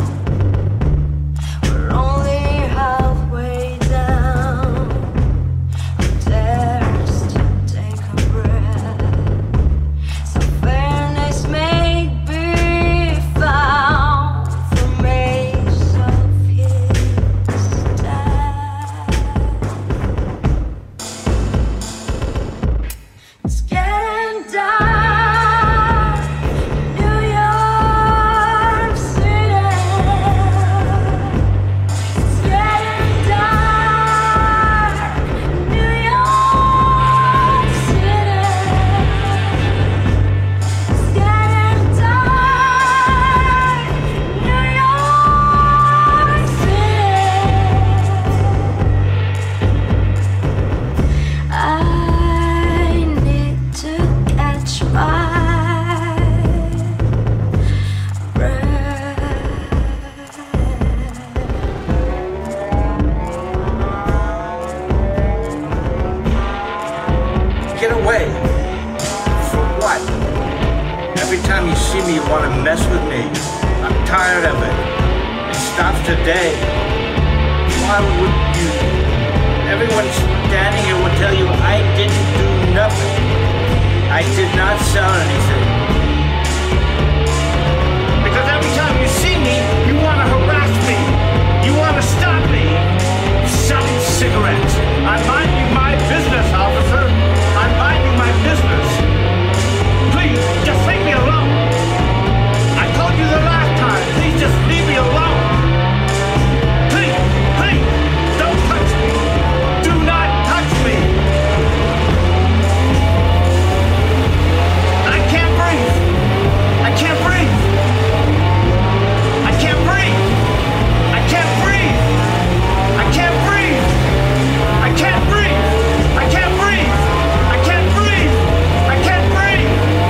[SPEAKER 6] We're only halfway down. Who dares to take a breath? Some fairness may be found from maze of his death. It's getting dark in New York City. It's getting dark in New York City. It's getting dark in New York City. I need to catch my breath.
[SPEAKER 8] Get away. For what? Every time you see me, you want to mess with me. I'm tired of it. It stops today. Why would you? Everyone standing here will tell you I didn't do nothing. I did not sell anything. Because every time you see me, you want to harass me. You want to stop me. Selling cigarettes. I'm minding my business, officer. I'm minding my business. Please, just leave me alone. I told you the last time. Please just leave me alone. Please, please, don't touch me. Do not touch me. I can't breathe. I can't breathe. I can't breathe. I can't breathe. I can't breathe. I can't breathe. I can't breathe. I can't breathe. I can't breathe.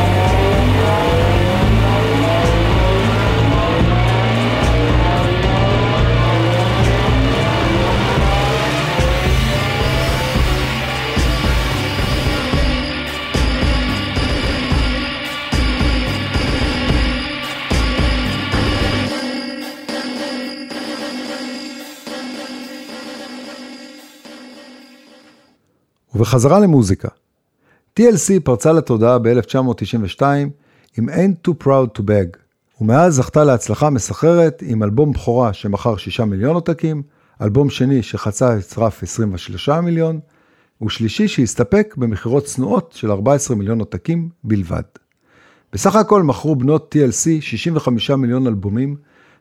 [SPEAKER 1] ובחזרה למוזיקה. TLC פרצה לתודעה ב-1992 עם Ain't Too Proud to Beg, ומאז זכתה להצלחה מסחררת עם אלבום בכורה שמכר 6 מיליון עותקים, אלבום שני שחצה את רף 23 מיליון, ושלישי שהסתפק במחירות צנועות של 14 מיליון עותקים בלבד. בסך הכל מכרו בנות TLC 65 מיליון אלבומים,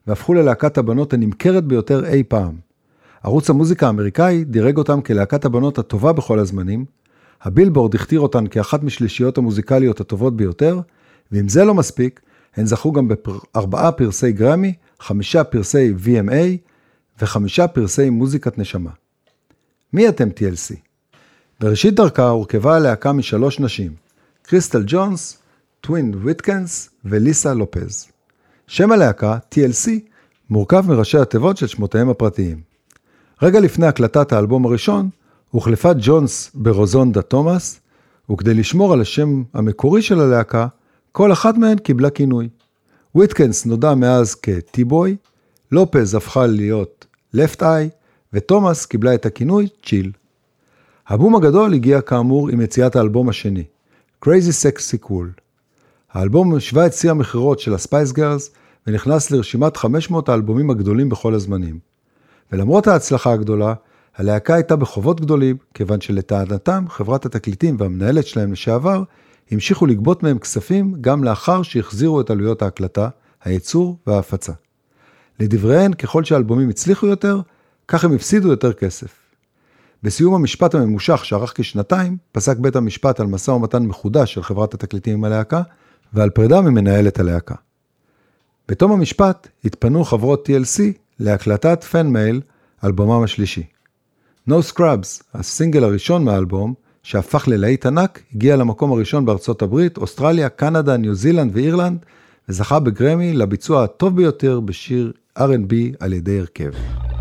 [SPEAKER 1] והפכו ללהקת הבנות הנמכרת ביותר אי פעם. ערוץ המוזיקה האמריקאי דירג אותם כלהקת הבנות הטובה בכל הזמנים, הבילבורד הכתיר אותן כאחת משלישיות המוזיקליות הטובות ביותר, ואם זה לא מספיק, הן זכו גם ב4 פרסי גרמי, 5 פרסי VMA ו5 פרסי מוזיקת נשמה. מי אתם TLC? בראשית דרכה הורכבה הלהקה מ3 נשים, קריסטל ג'ונס, טווין וויטקנס וליסה לופז. שם הלהקה, TLC, מורכב מראשי התיבות של שמותיהם הפרטיים. רגע לפני הקלטת האלבום הראשון, הוחלפה ג'ונס ברוזונדה תומאס, וכדי לשמור על השם המקורי של הלהקה, כל אחת מהן קיבלה כינוי. וויטקנס נודע מאז כ-T-Boy, לופז הפכה להיות Left Eye, ותומאס קיבלה את הכינוי צ'יל. הבום הגדול הגיע כאמור עם יציאת האלבום השני, Crazy Sexy Cool. האלבום השווה את שיא המחירות של הספייס גרלס, ונכנס לרשימת 500 האלבומים הגדולים בכל הזמנים. ולמרות ההצלחה הגדולה, הלהקה הייתה בחובות גדולים, כיוון שלטענתם חברת התקליטים והמנהלת שלהם לשעבר, המשיכו לגבות מהם כספים גם לאחר שהחזירו את עלויות ההקלטה, הייצור וההפצה. לדבריהן, ככל שהאלבומים הצליחו יותר, כך הם הפסידו יותר כסף. בסיום המשפט הממושך שערך כשנתיים, פסק בית המשפט על משא ומתן מחודש של חברת התקליטים עם הלהקה, ועל פרידה ממנהלת הלהקה. בתום המשפט התפנו חברות TLC להקלטת פן מייל, אלבומם השלישי. No Scrubs, הסינגל הראשון מהאלבום, שהפך ללהיט ענק, הגיע למקום הראשון בארצות הברית, אוסטרליה, קנדה, ניו זילנד ואירלנד, וזכה בגרמי לביצוע הטוב ביותר בשיר R&B על ידי הרכב.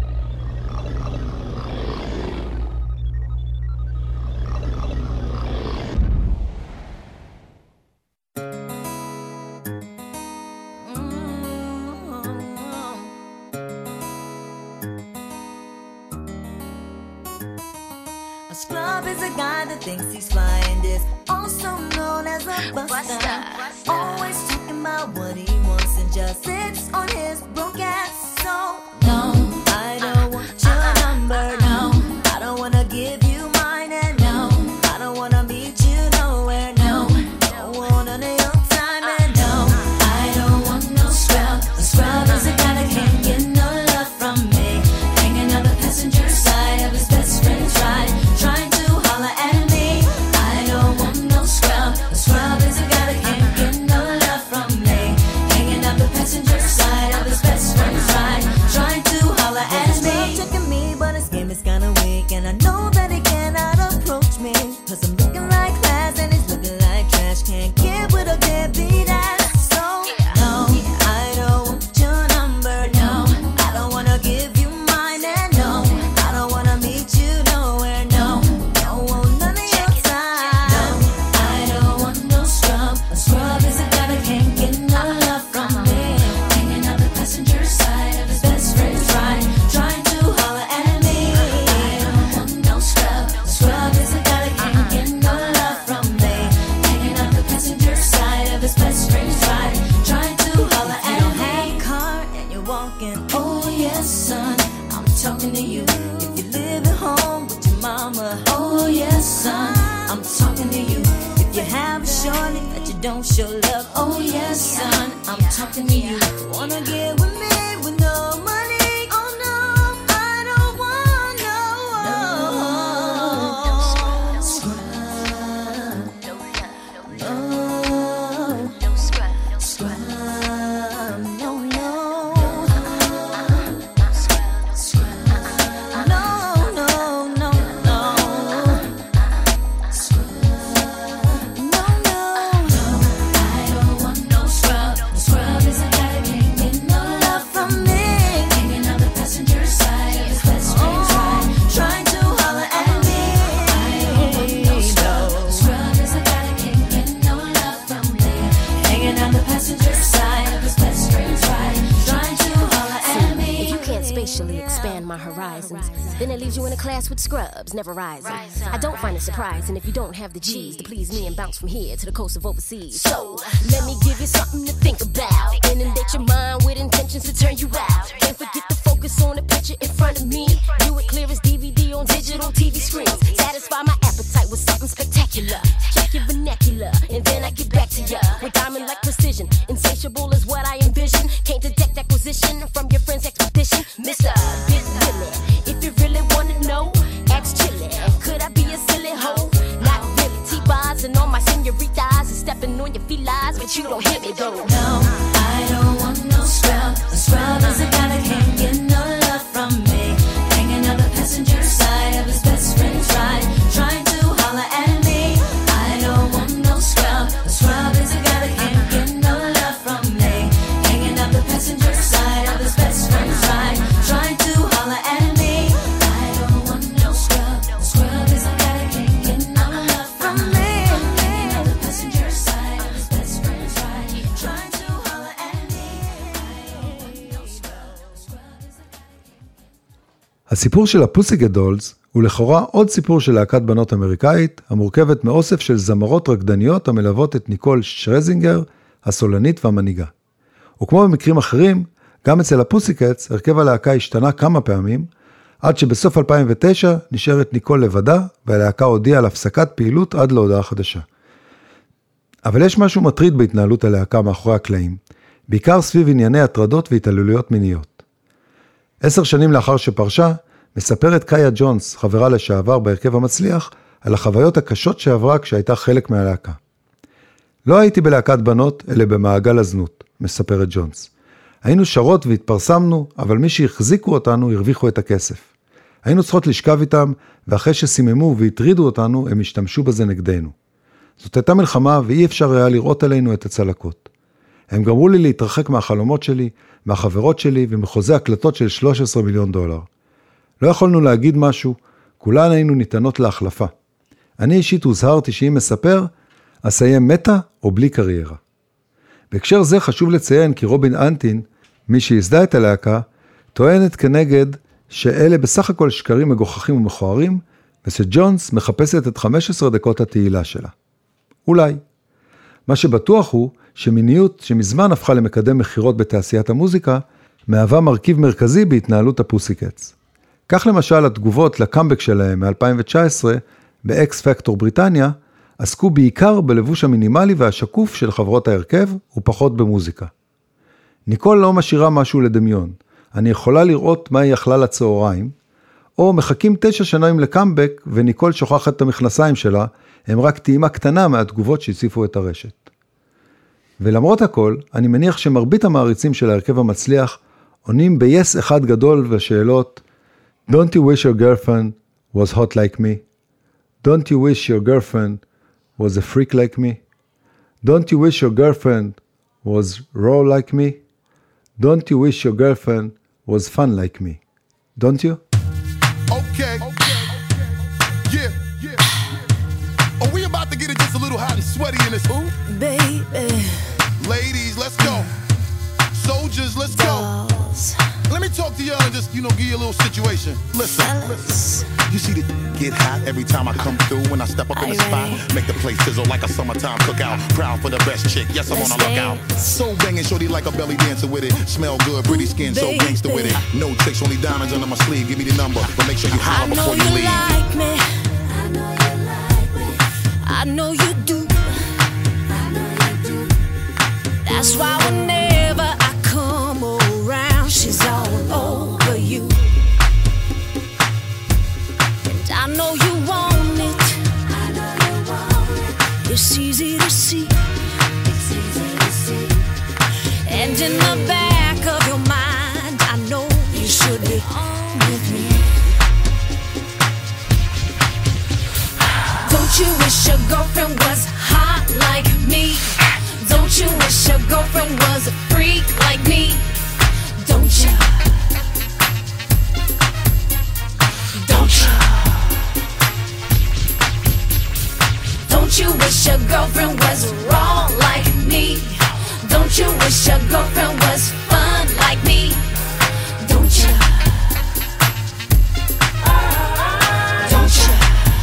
[SPEAKER 6] Scrub is a guy that thinks he's flying, is also known as a buster. Always talking about what he wants and just sits on his broke ass. So no, I don't want your number. No, I don't wanna give you mine, and no, I don't wanna meet you nowhere. No, don't want none of your time, and no, I don't want no scrub. A scrub is a guy that can't get no love from me, hanging on the passenger side of his best friend's ride. Trying to holler at me, I don't want no scrub. A scrub is a guy that can't get no love from me, hanging up the passenger side of his best friend's ride. Trying to holler at me. He's checking me, but his game is kinda weak, and I know that he cannot approach me, 'cause I'm looking like class and he's looking like trash. Can't get with a deadbeat ass. So no, I don't want your number. No, I don't wanna give you mine, and no, I don't wanna meet you nowhere. No, don't want none of your time. No, I don't want no scrub. A scrub is a guy that can't get no love from me, hanging on the passenger side of his best friend's ride, trying to holler at me. I don't want no scrub. A scrub is a guy that can't get no love from me, hanging on the passenger side of his best friend's ride, trying to holler at me. You don't have a car and you're walking. Oh yes, son, I'm talking to you. If you live at home with your mama. Oh yes, son, I'm talking to you. If you have a shorty that you don't show love. Oh yes, son, I'm talking to you. Wanna get with me with no money? Oh no, I don't want no scrub. No scrub. No, no. Scrub. No, no, no, no. Scrub. No, no. I don't want no scrub. A scrub is a guy that can't get no love from me, hanging on the passenger side of his best friend's ride, trying to holler at me. I don't want no scrub. A scrub is a guy that can't get no love from me, hanging on the passenger side of his best friend's ride, trying to holler at me.
[SPEAKER 9] If you can't spatially expand my horizons, then it leaves you in a class with scrubs, never rising. I don't find it surprising if you don't have the G's to please me and bounce from here to the coast of overseas. So, let me give you something to think about. Inundate your mind with intentions to turn you out. Can't forget to focus on the picture in front of me. View it clear as DVD on digital TV screens. Satisfy my appetite with something spectacular. Check your vernacular, and then I get back to ya with diamond-like precision. Insatiable is what I envision. Can't detect acquisition from buzzing on my senoritas and stepping on your felines, but you don't hit me though.
[SPEAKER 6] No, I don't want no scrub. A scrub is a guy that can't get no love from me. Hanging on the passenger side of his best friend's ride, trying to holler at me. I don't want no scrub. A scrub is a guy that can't get no love from me. Hanging on the passenger side of his best friend's ride, trying to holler at me. I don't want no scrub. A scrub is a guy that can't get no love from me. Hanging on the passenger side of his best friend's ride, trying to holler at me. I don't want no scrub. A scrub is a guy.
[SPEAKER 1] הסיפור של הפוסיגט דולס הוא לכאורה עוד סיפור של להקת בנות אמריקאית, המורכבת מאוסף של זמרות רקדניות המלוות את ניקול שרזינגר, הסולנית והמנהיגה. וכמו במקרים אחרים, גם אצל הפוסיקטס, הרכב הלהקה השתנה כמה פעמים, עד שבסוף 2009 נשארת ניקול לבדה, והלהקה הודיעה על הפסקת פעילות עד להודעה חדשה. אבל יש משהו מטריד בהתנהלות הלהקה מאחורי הקלעים, בעיקר סביב ענייני הטרדות והתעללויות מיניות. 10 שנים לאחר שפרשה, מספרת קאיה ג'ונס, חברה לשעבר בהרכב המצליח, על החוויות הקשות שעברה כשהייתה חלק מהלהקה. לא הייתי בלהקת בנות, אלא במעגל הזנות, מספרת ג'ונס. היינו שרות והתפרסמנו, אבל מי שהחזיקו אותנו הרוויחו את הכסף. היינו צריכות לשכב איתם, ואחרי שסיממו והטרידו אותנו, הם השתמשו בזה נגדנו. זאת הייתה מלחמה, ואי אפשר היה לראות עלינו את הצלקות. הם גמרו לי להתרחק מהחלומות שלי, מהחברות שלי, ומחוזה הקלטות של $13 מיליון. לא יכולנו להגיד משהו, כולן היינו ניתנות להחלפה. אני אישית הוזהרתי שאם מספר, אסיים מתה או בלי קריירה. בהקשר זה חשוב לציין כי רובין אנטין, מי שיסדה את הלהקה, טוענת כנגד שאלה בסך הכל שקרים מגוחכים ומכוערים, ושג'ונס מחפשת את 15 דקות התהילה שלה. אולי. מה שבטוח הוא שמיניות שמזמן הפכה למקדם מחירות בתעשיית המוזיקה, מהווה מרכיב מרכזי בהתנהלות הפוסיקטס. כך למשל התגובות לקאמבק שלהם מ-2019 באקס פקטור בריטניה, עסקו בעיקר בלבוש המינימלי והשקוף של חברות ההרכב ופחות במוזיקה. ניקול לא משאירה משהו לדמיון, אני יכולה לראות מה היא אכלה לצהריים, או מחכים 9 שנים לקאמבק וניקול שוכחת את המכנסיים שלה, הם רק טעימה קטנה מהתגובות שהציפו את הרשת. ולמרות הכל, אני מניח שמרבית המעריצים של ההרכב המצליח עונים ב-yes אחד גדול בשאלות Don't you wish your girlfriend was hot like me? Don't you wish your girlfriend was a freak like me? Don't you wish your girlfriend was raw like me? Don't you wish your girlfriend was fun like me? Don't you?
[SPEAKER 5] Okay. Yeah. Are we about to get it just a little hot and sweaty in this? Ooh,
[SPEAKER 6] Baby,
[SPEAKER 5] ladies, let's go. Soldiers, let's go. Let me talk to y'all and just, give you a little situation. Listen. You see the get hot every time I come through when I step up in the spot. Make the place sizzle like a summertime cookout. Proud for the best chick, yes, I'm on a lookout. So banging, shorty like a belly dancer with it. Smell good, pretty skin, so gangster with it. No tricks, only diamonds under my sleeve. Give me the number, but make sure you holler before you leave.
[SPEAKER 6] like me. I know you like me. I know you do. I know you do. That's why whenever I come around, she's all over you. And I know you want it. I know you want it. It's easy to see. It's easy to see. And in the back of your mind, I know you should be on with me. Don't you wish your girlfriend was hot like me? Don't you wish your girlfriend was a freak like me? Don't you? Don't you? Don't you wish your girlfriend was raw like me? Don't you wish your girlfriend was fun like me? Don't you? Don't you?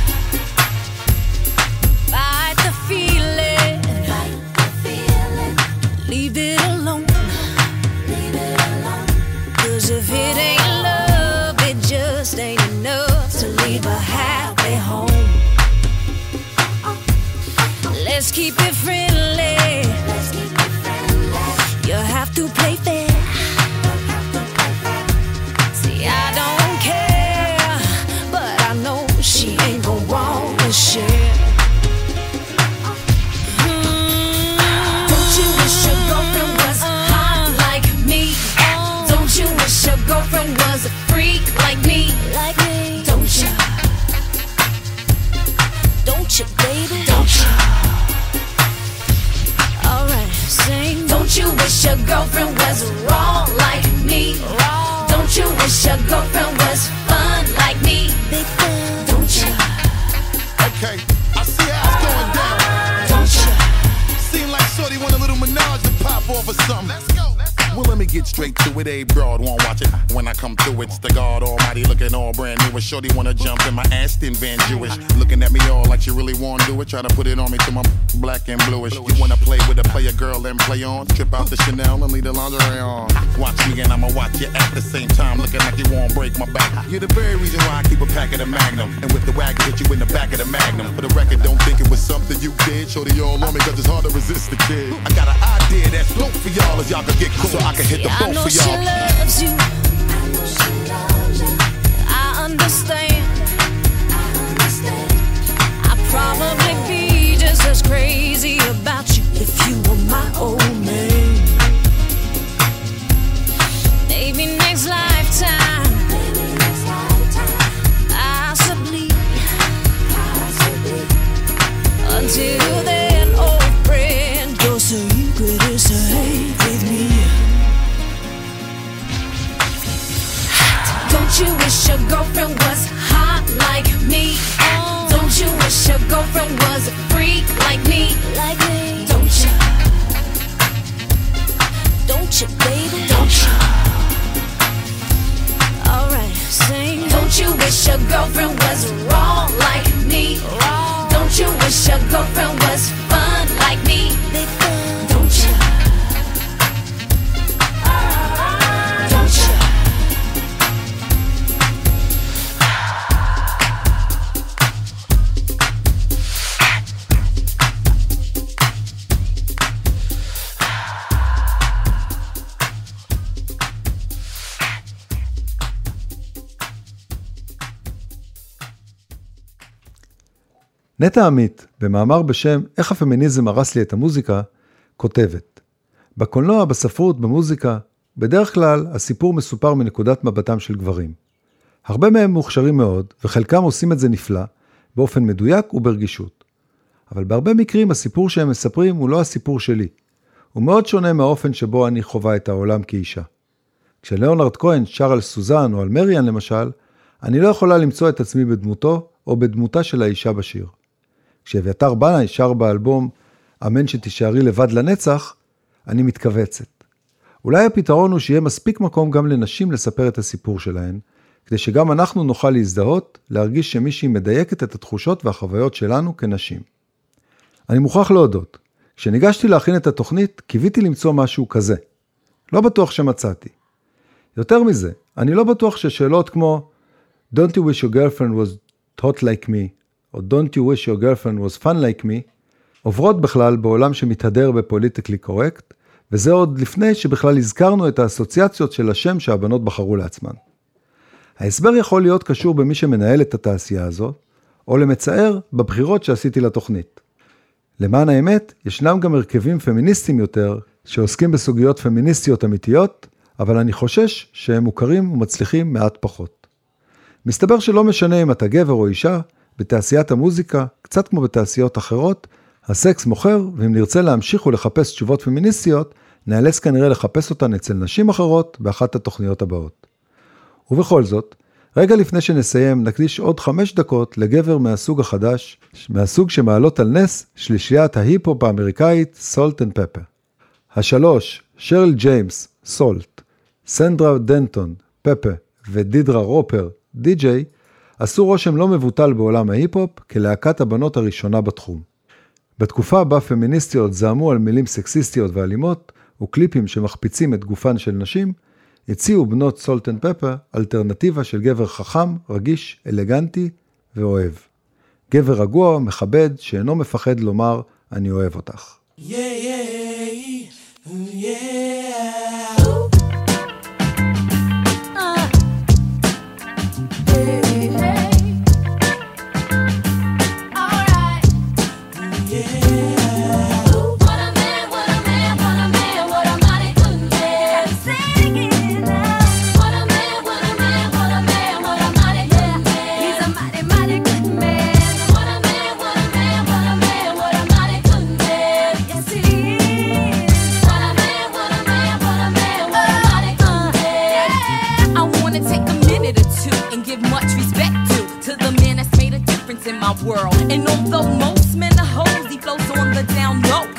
[SPEAKER 6] Fight the feeling. Fight the feeling. Leave it alone. Leave it alone. 'Cause if it ain't love, it just ain't enough to leave a happy home. Let's keep it friendly. Let's keep it friendly. You have to play fair. See, I don't care, but I know she ain't gon' want to share. your girlfriend was wrong like me? Don't you wish your girlfriend was fun like me? Don't you?
[SPEAKER 5] Okay, I see how it's going down.
[SPEAKER 6] Don't you?
[SPEAKER 5] Seem like Shorty want a little menage to pop off or something. Let's go. Well, let me get straight to it. A broad won't watch it. When I come through, it's the God Almighty looking all brand new. Shorty wanna jump in my Aston Van Jewish, looking at me all like she really wanna do it. Try to put it on me till my black and bluish. You wanna play with a player girl and play on? Trip out the Chanel and leave the lingerie on. Watch me and I'ma watch you at the same time, looking like you won't break my back. You're the very reason why I keep a pack of the Magnum, and with the wagon hit you in the back of the Magnum. For the record, don't think it was something you did. Shorty all on me 'cause it's hard to resist the kid. I got an idea that's dope for y'all as y'all can get cool, so I can hit the boat for y'all.
[SPEAKER 6] She loves you. I understand. I'd probably be just as crazy about you if you were my old man. Maybe next lifetime. Possibly. Until then, old friend, your secret is safe with me. Don't you wish your girlfriend was hot like me? Don't you wish your girlfriend was a freak like me? Don't you? Don't you, baby? Don't you? Alright, sing. Don't you wish your girlfriend was wrong like me? Don't you wish your girlfriend was fun like me? Don't you? Don't you?
[SPEAKER 1] נטע עמית, במאמר בשם איך הפמיניזם הרס לי את המוזיקה, כותבת: בקולנוע, בספרות, במוזיקה, בדרך כלל הסיפור מסופר מנקודת מבטם של גברים. הרבה מהם מוכשרים מאוד, וחלקם עושים את זה נפלא, באופן מדויק וברגישות. אבל בהרבה מקרים הסיפור שהם מספרים הוא לא הסיפור שלי. הוא מאוד שונה מהאופן שבו אני חווה את העולם כאישה. כשליאונרד כהן שר על סוזן או על מריאן למשל, אני לא יכולה למצוא את עצמי בדמותו או בדמותה של האישה בשיר. כשאביתר בנאי שר באלבום אמן שתישארי לבד לנצח, אני מתכווצת. אולי הפתרון הוא שיהיה מספיק מקום גם לנשים לספר את הסיפור שלהן, כדי שגם אנחנו נוכל להזדהות, להרגיש שמישהי מדייקת את התחושות והחוויות שלנו כנשים. אני מוכרח להודות, כשניגשתי להכין את התוכנית, קיוויתי למצוא משהו כזה. לא בטוח שמצאתי. יותר מזה, אני לא בטוח ששאלות כמו Don't you wish your girlfriend was hot like me, או Don't you wish your girlfriend was fun like me, עוברות בכלל בעולם שמתהדר בפוליטיקלי קורקט, וזה עוד לפני שבכלל הזכרנו את האסוציאציות של השם שהבנות בחרו לעצמן. ההסבר יכול להיות קשור במי שמנהל את התעשייה הזו, או למצער בבחירות שעשיתי לתוכנית. למען האמת, ישנם גם הרכבים פמיניסטיים יותר, שעוסקים בסוגיות פמיניסטיות אמיתיות, אבל אני חושש שהם מוכרים ומצליחים מעט פחות. מסתבר שלא משנה אם אתה גבר או אישה, בתעשיית המוזיקה, קצת כמו בתעשיות אחרות, הסקס מוכר, ואם נרצה להמשיך ולחפש תשובות פמיניסטיות, נאלץ כנראה לחפש אותן אצל נשים אחרות באחת התוכניות הבאות. ובכל זאת, רגע לפני שנסיים, נקדיש עוד 5 דקות לגבר מהסוג החדש, מהסוג שמעלות על נס שלישיית ההיפ-הופ האמריקאית סולט אנד פפר. 3, שרל ג'יימס, סולט, סנדרה דנטון, פפה ודידרה רופר, די-ג'יי, עשו רושם לא מבוטל בעולם ההיפ-הופ כלהקת הבנות הראשונה בתחום. בתקופה בה פמיניסטיות זעמו על מילים סקסיסטיות ואלימות, וקליפים שמחפיצים את גופן של נשים, הציעו בנות סולט אנד פפר אלטרנטיבה של גבר חכם, רגיש, אלגנטי ואוהב. גבר רגוע, מכבד, שאינו מפחד לומר, אני אוהב אותך.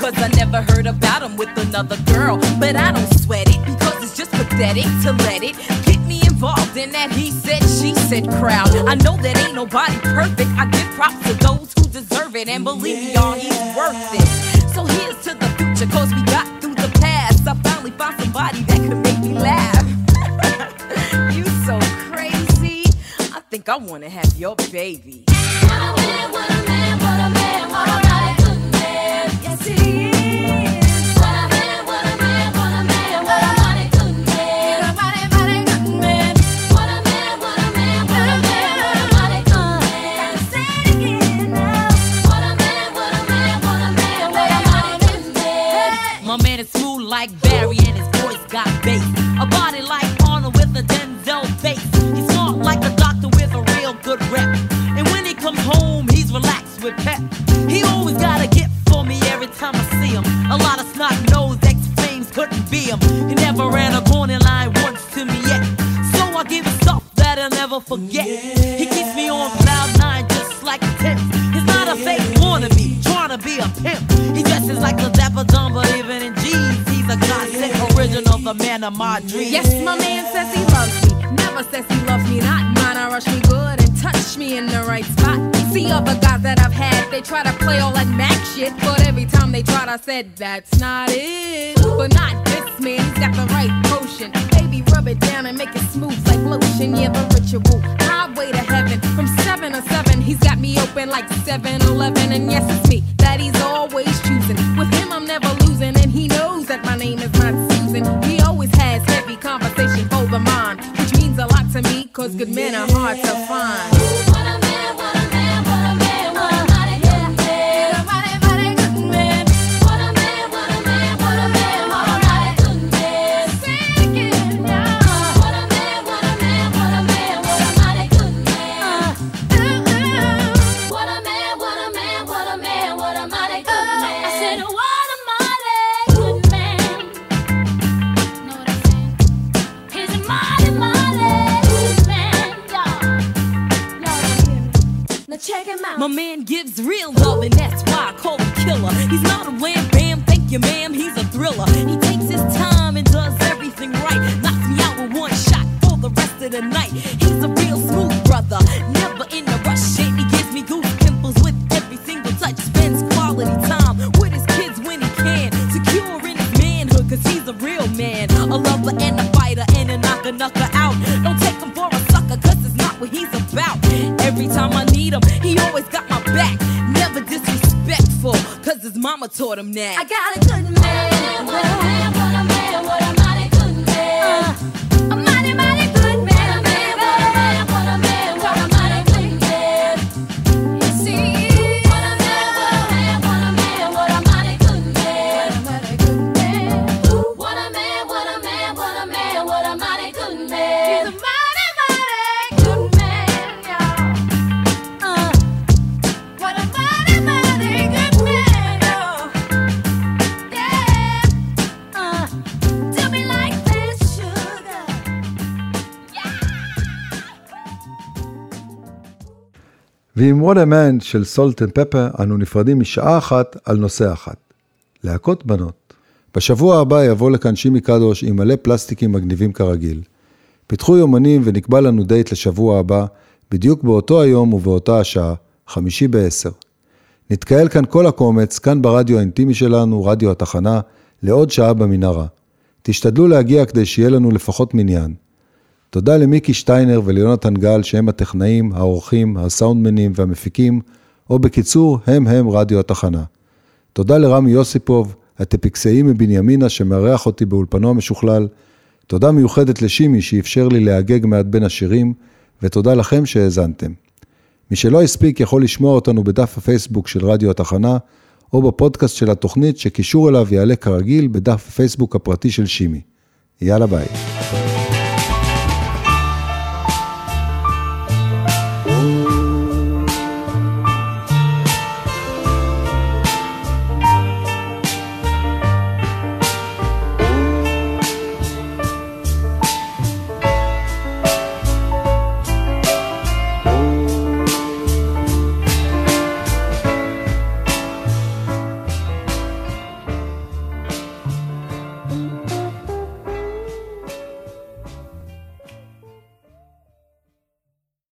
[SPEAKER 10] cause I never heard about him with another girl. But I don't sweat it, because it's just pathetic to let it get me involved in that he said, she said crowd. I know that ain't nobody perfect. I give props to those who deserve it, and believe me, y'all, he's worth it. So here's to the future, cause we got through the past. I finally found somebody that could make me laugh. You so crazy, I think I wanna have your baby.
[SPEAKER 6] What a man, what a man, what a man, what a mighty good man. Yes, he is. What a man, what a man, what a man, what a mighty good man. A mighty, mighty good man. What a man, what a man, what a man, what a mighty good man. Say it again now. What a man, what a man, what a man, what a mighty good man.
[SPEAKER 10] My man is smooth like Barry and his voice got bass. A body like Arnold with a Denzel face. He's smart like a doctor with a real good rep. And when he comes home, he's relaxed with pep. He always got a gift for me every time I see him. A lot of snot-nosed ex-flames couldn't be him. He never ran a corner line once to me yet. So I give him stuff that I'll never forget. He keeps me on cloud nine just like a tip. He's not a fake wannabe, trying to be a pimp. He dresses like a dapper dumb, but even in jeans, he's a godsend original, the man of my dreams.
[SPEAKER 11] Yes, my man says he loves me. Never says he loves me not. Mine, I rush me good and touch me in the right spot. See other guys that I've had, they try to play all that Mac shit, but every time they tried, I said, that's not it. But not this man, he's got the right potion. Baby, rub it down and make it smooth like lotion. Yeah, the ritual, highway to heaven. From 7 to 7, he's got me open like 7-Eleven. And yes, it's me that he's always choosing. With him, I'm never losing, and he knows that my name is not Susan. He always has heavy conversation for the mind, which means a lot to me, cause good men are hard to find.
[SPEAKER 6] What a man, what a man, what a man, what a mighty good man. A mighty, mighty good man. What a man, what a man, what a man, what a mighty good man. Say it again, yeah. What a man, what a man, what a man, what a mighty good man. What a man, what a man, what a man, what a mighty good man. I said, what a mighty good man. Know what I'm saying? He's a mighty, mighty good man, y'all. Y'all don't hear me. Now check him out.
[SPEAKER 10] My man gives real love, and that's why I call him killer. He's not a wham bam, thank you ma'am, he's a thriller. He takes his time and does everything right. Knocks me out with one shot for the rest of the night. He's a real smooth brother, never in a rush. And he gives me goose pimples with every single touch. Spends quality time with his kids when he can. Secure in his manhood, cause he's a real man. A lover and a fighter and a knocker out. Don't take him for a sucker, cause it's not what he's about. Every time I need him, he always got my back. Never disrespectful, cause his mama taught him that.
[SPEAKER 6] I got a good man. What a man, what a man, what a mighty good man. A mighty, mighty good man. What a man, what a man, what a man, what a mighty good man. You see, what a man, what a man, what a man, what a mighty good man. What a good man. What a man, what a man, what a man, what a mighty good man. He's a mighty, mighty good man, y'all. What a mighty, mighty good man, y'all. Yeah. Do me like this, sugar.
[SPEAKER 1] ועם What a Man של סולט אנד פפר אנו נפרדים משעה אחת על נושא אחת. להקות בנות. בשבוע הבא יבוא לכאן שימי קדוש עם מלא פלסטיקים מגניבים כרגיל. פיתחו יומנים ונקבע לנו דייט לשבוע הבא, בדיוק באותו היום ובאותה השעה, 5:50. נתקהל כאן כל הקומץ, כאן ברדיו האינטימי שלנו, רדיו התחנה, לעוד שעה במנהרה. תשתדלו להגיע כדי שיהיה לנו לפחות מניין. תודה למיקי שטיינר וליונתן גל שהם הטכנאים, האורחים, הסאונדמנים והמפיקים, או בקיצור, הם רדיו התחנה. תודה לרמי יוסיפוב, הטפיקסאי מבנימינה שמארח אותי באולפנו המשוכלל. תודה מיוחדת לשימי שאפשר לי להגג מעט בין השירים, ותודה לכם שהאזנתם. מי שלא הספיק יכול לשמוע אותנו בדף הפייסבוק של רדיו התחנה, או בפודקאסט של התוכנית שקישור אליו יעלה כרגיל בדף הפייסבוק הפרטי של שימי. יאללה ביי.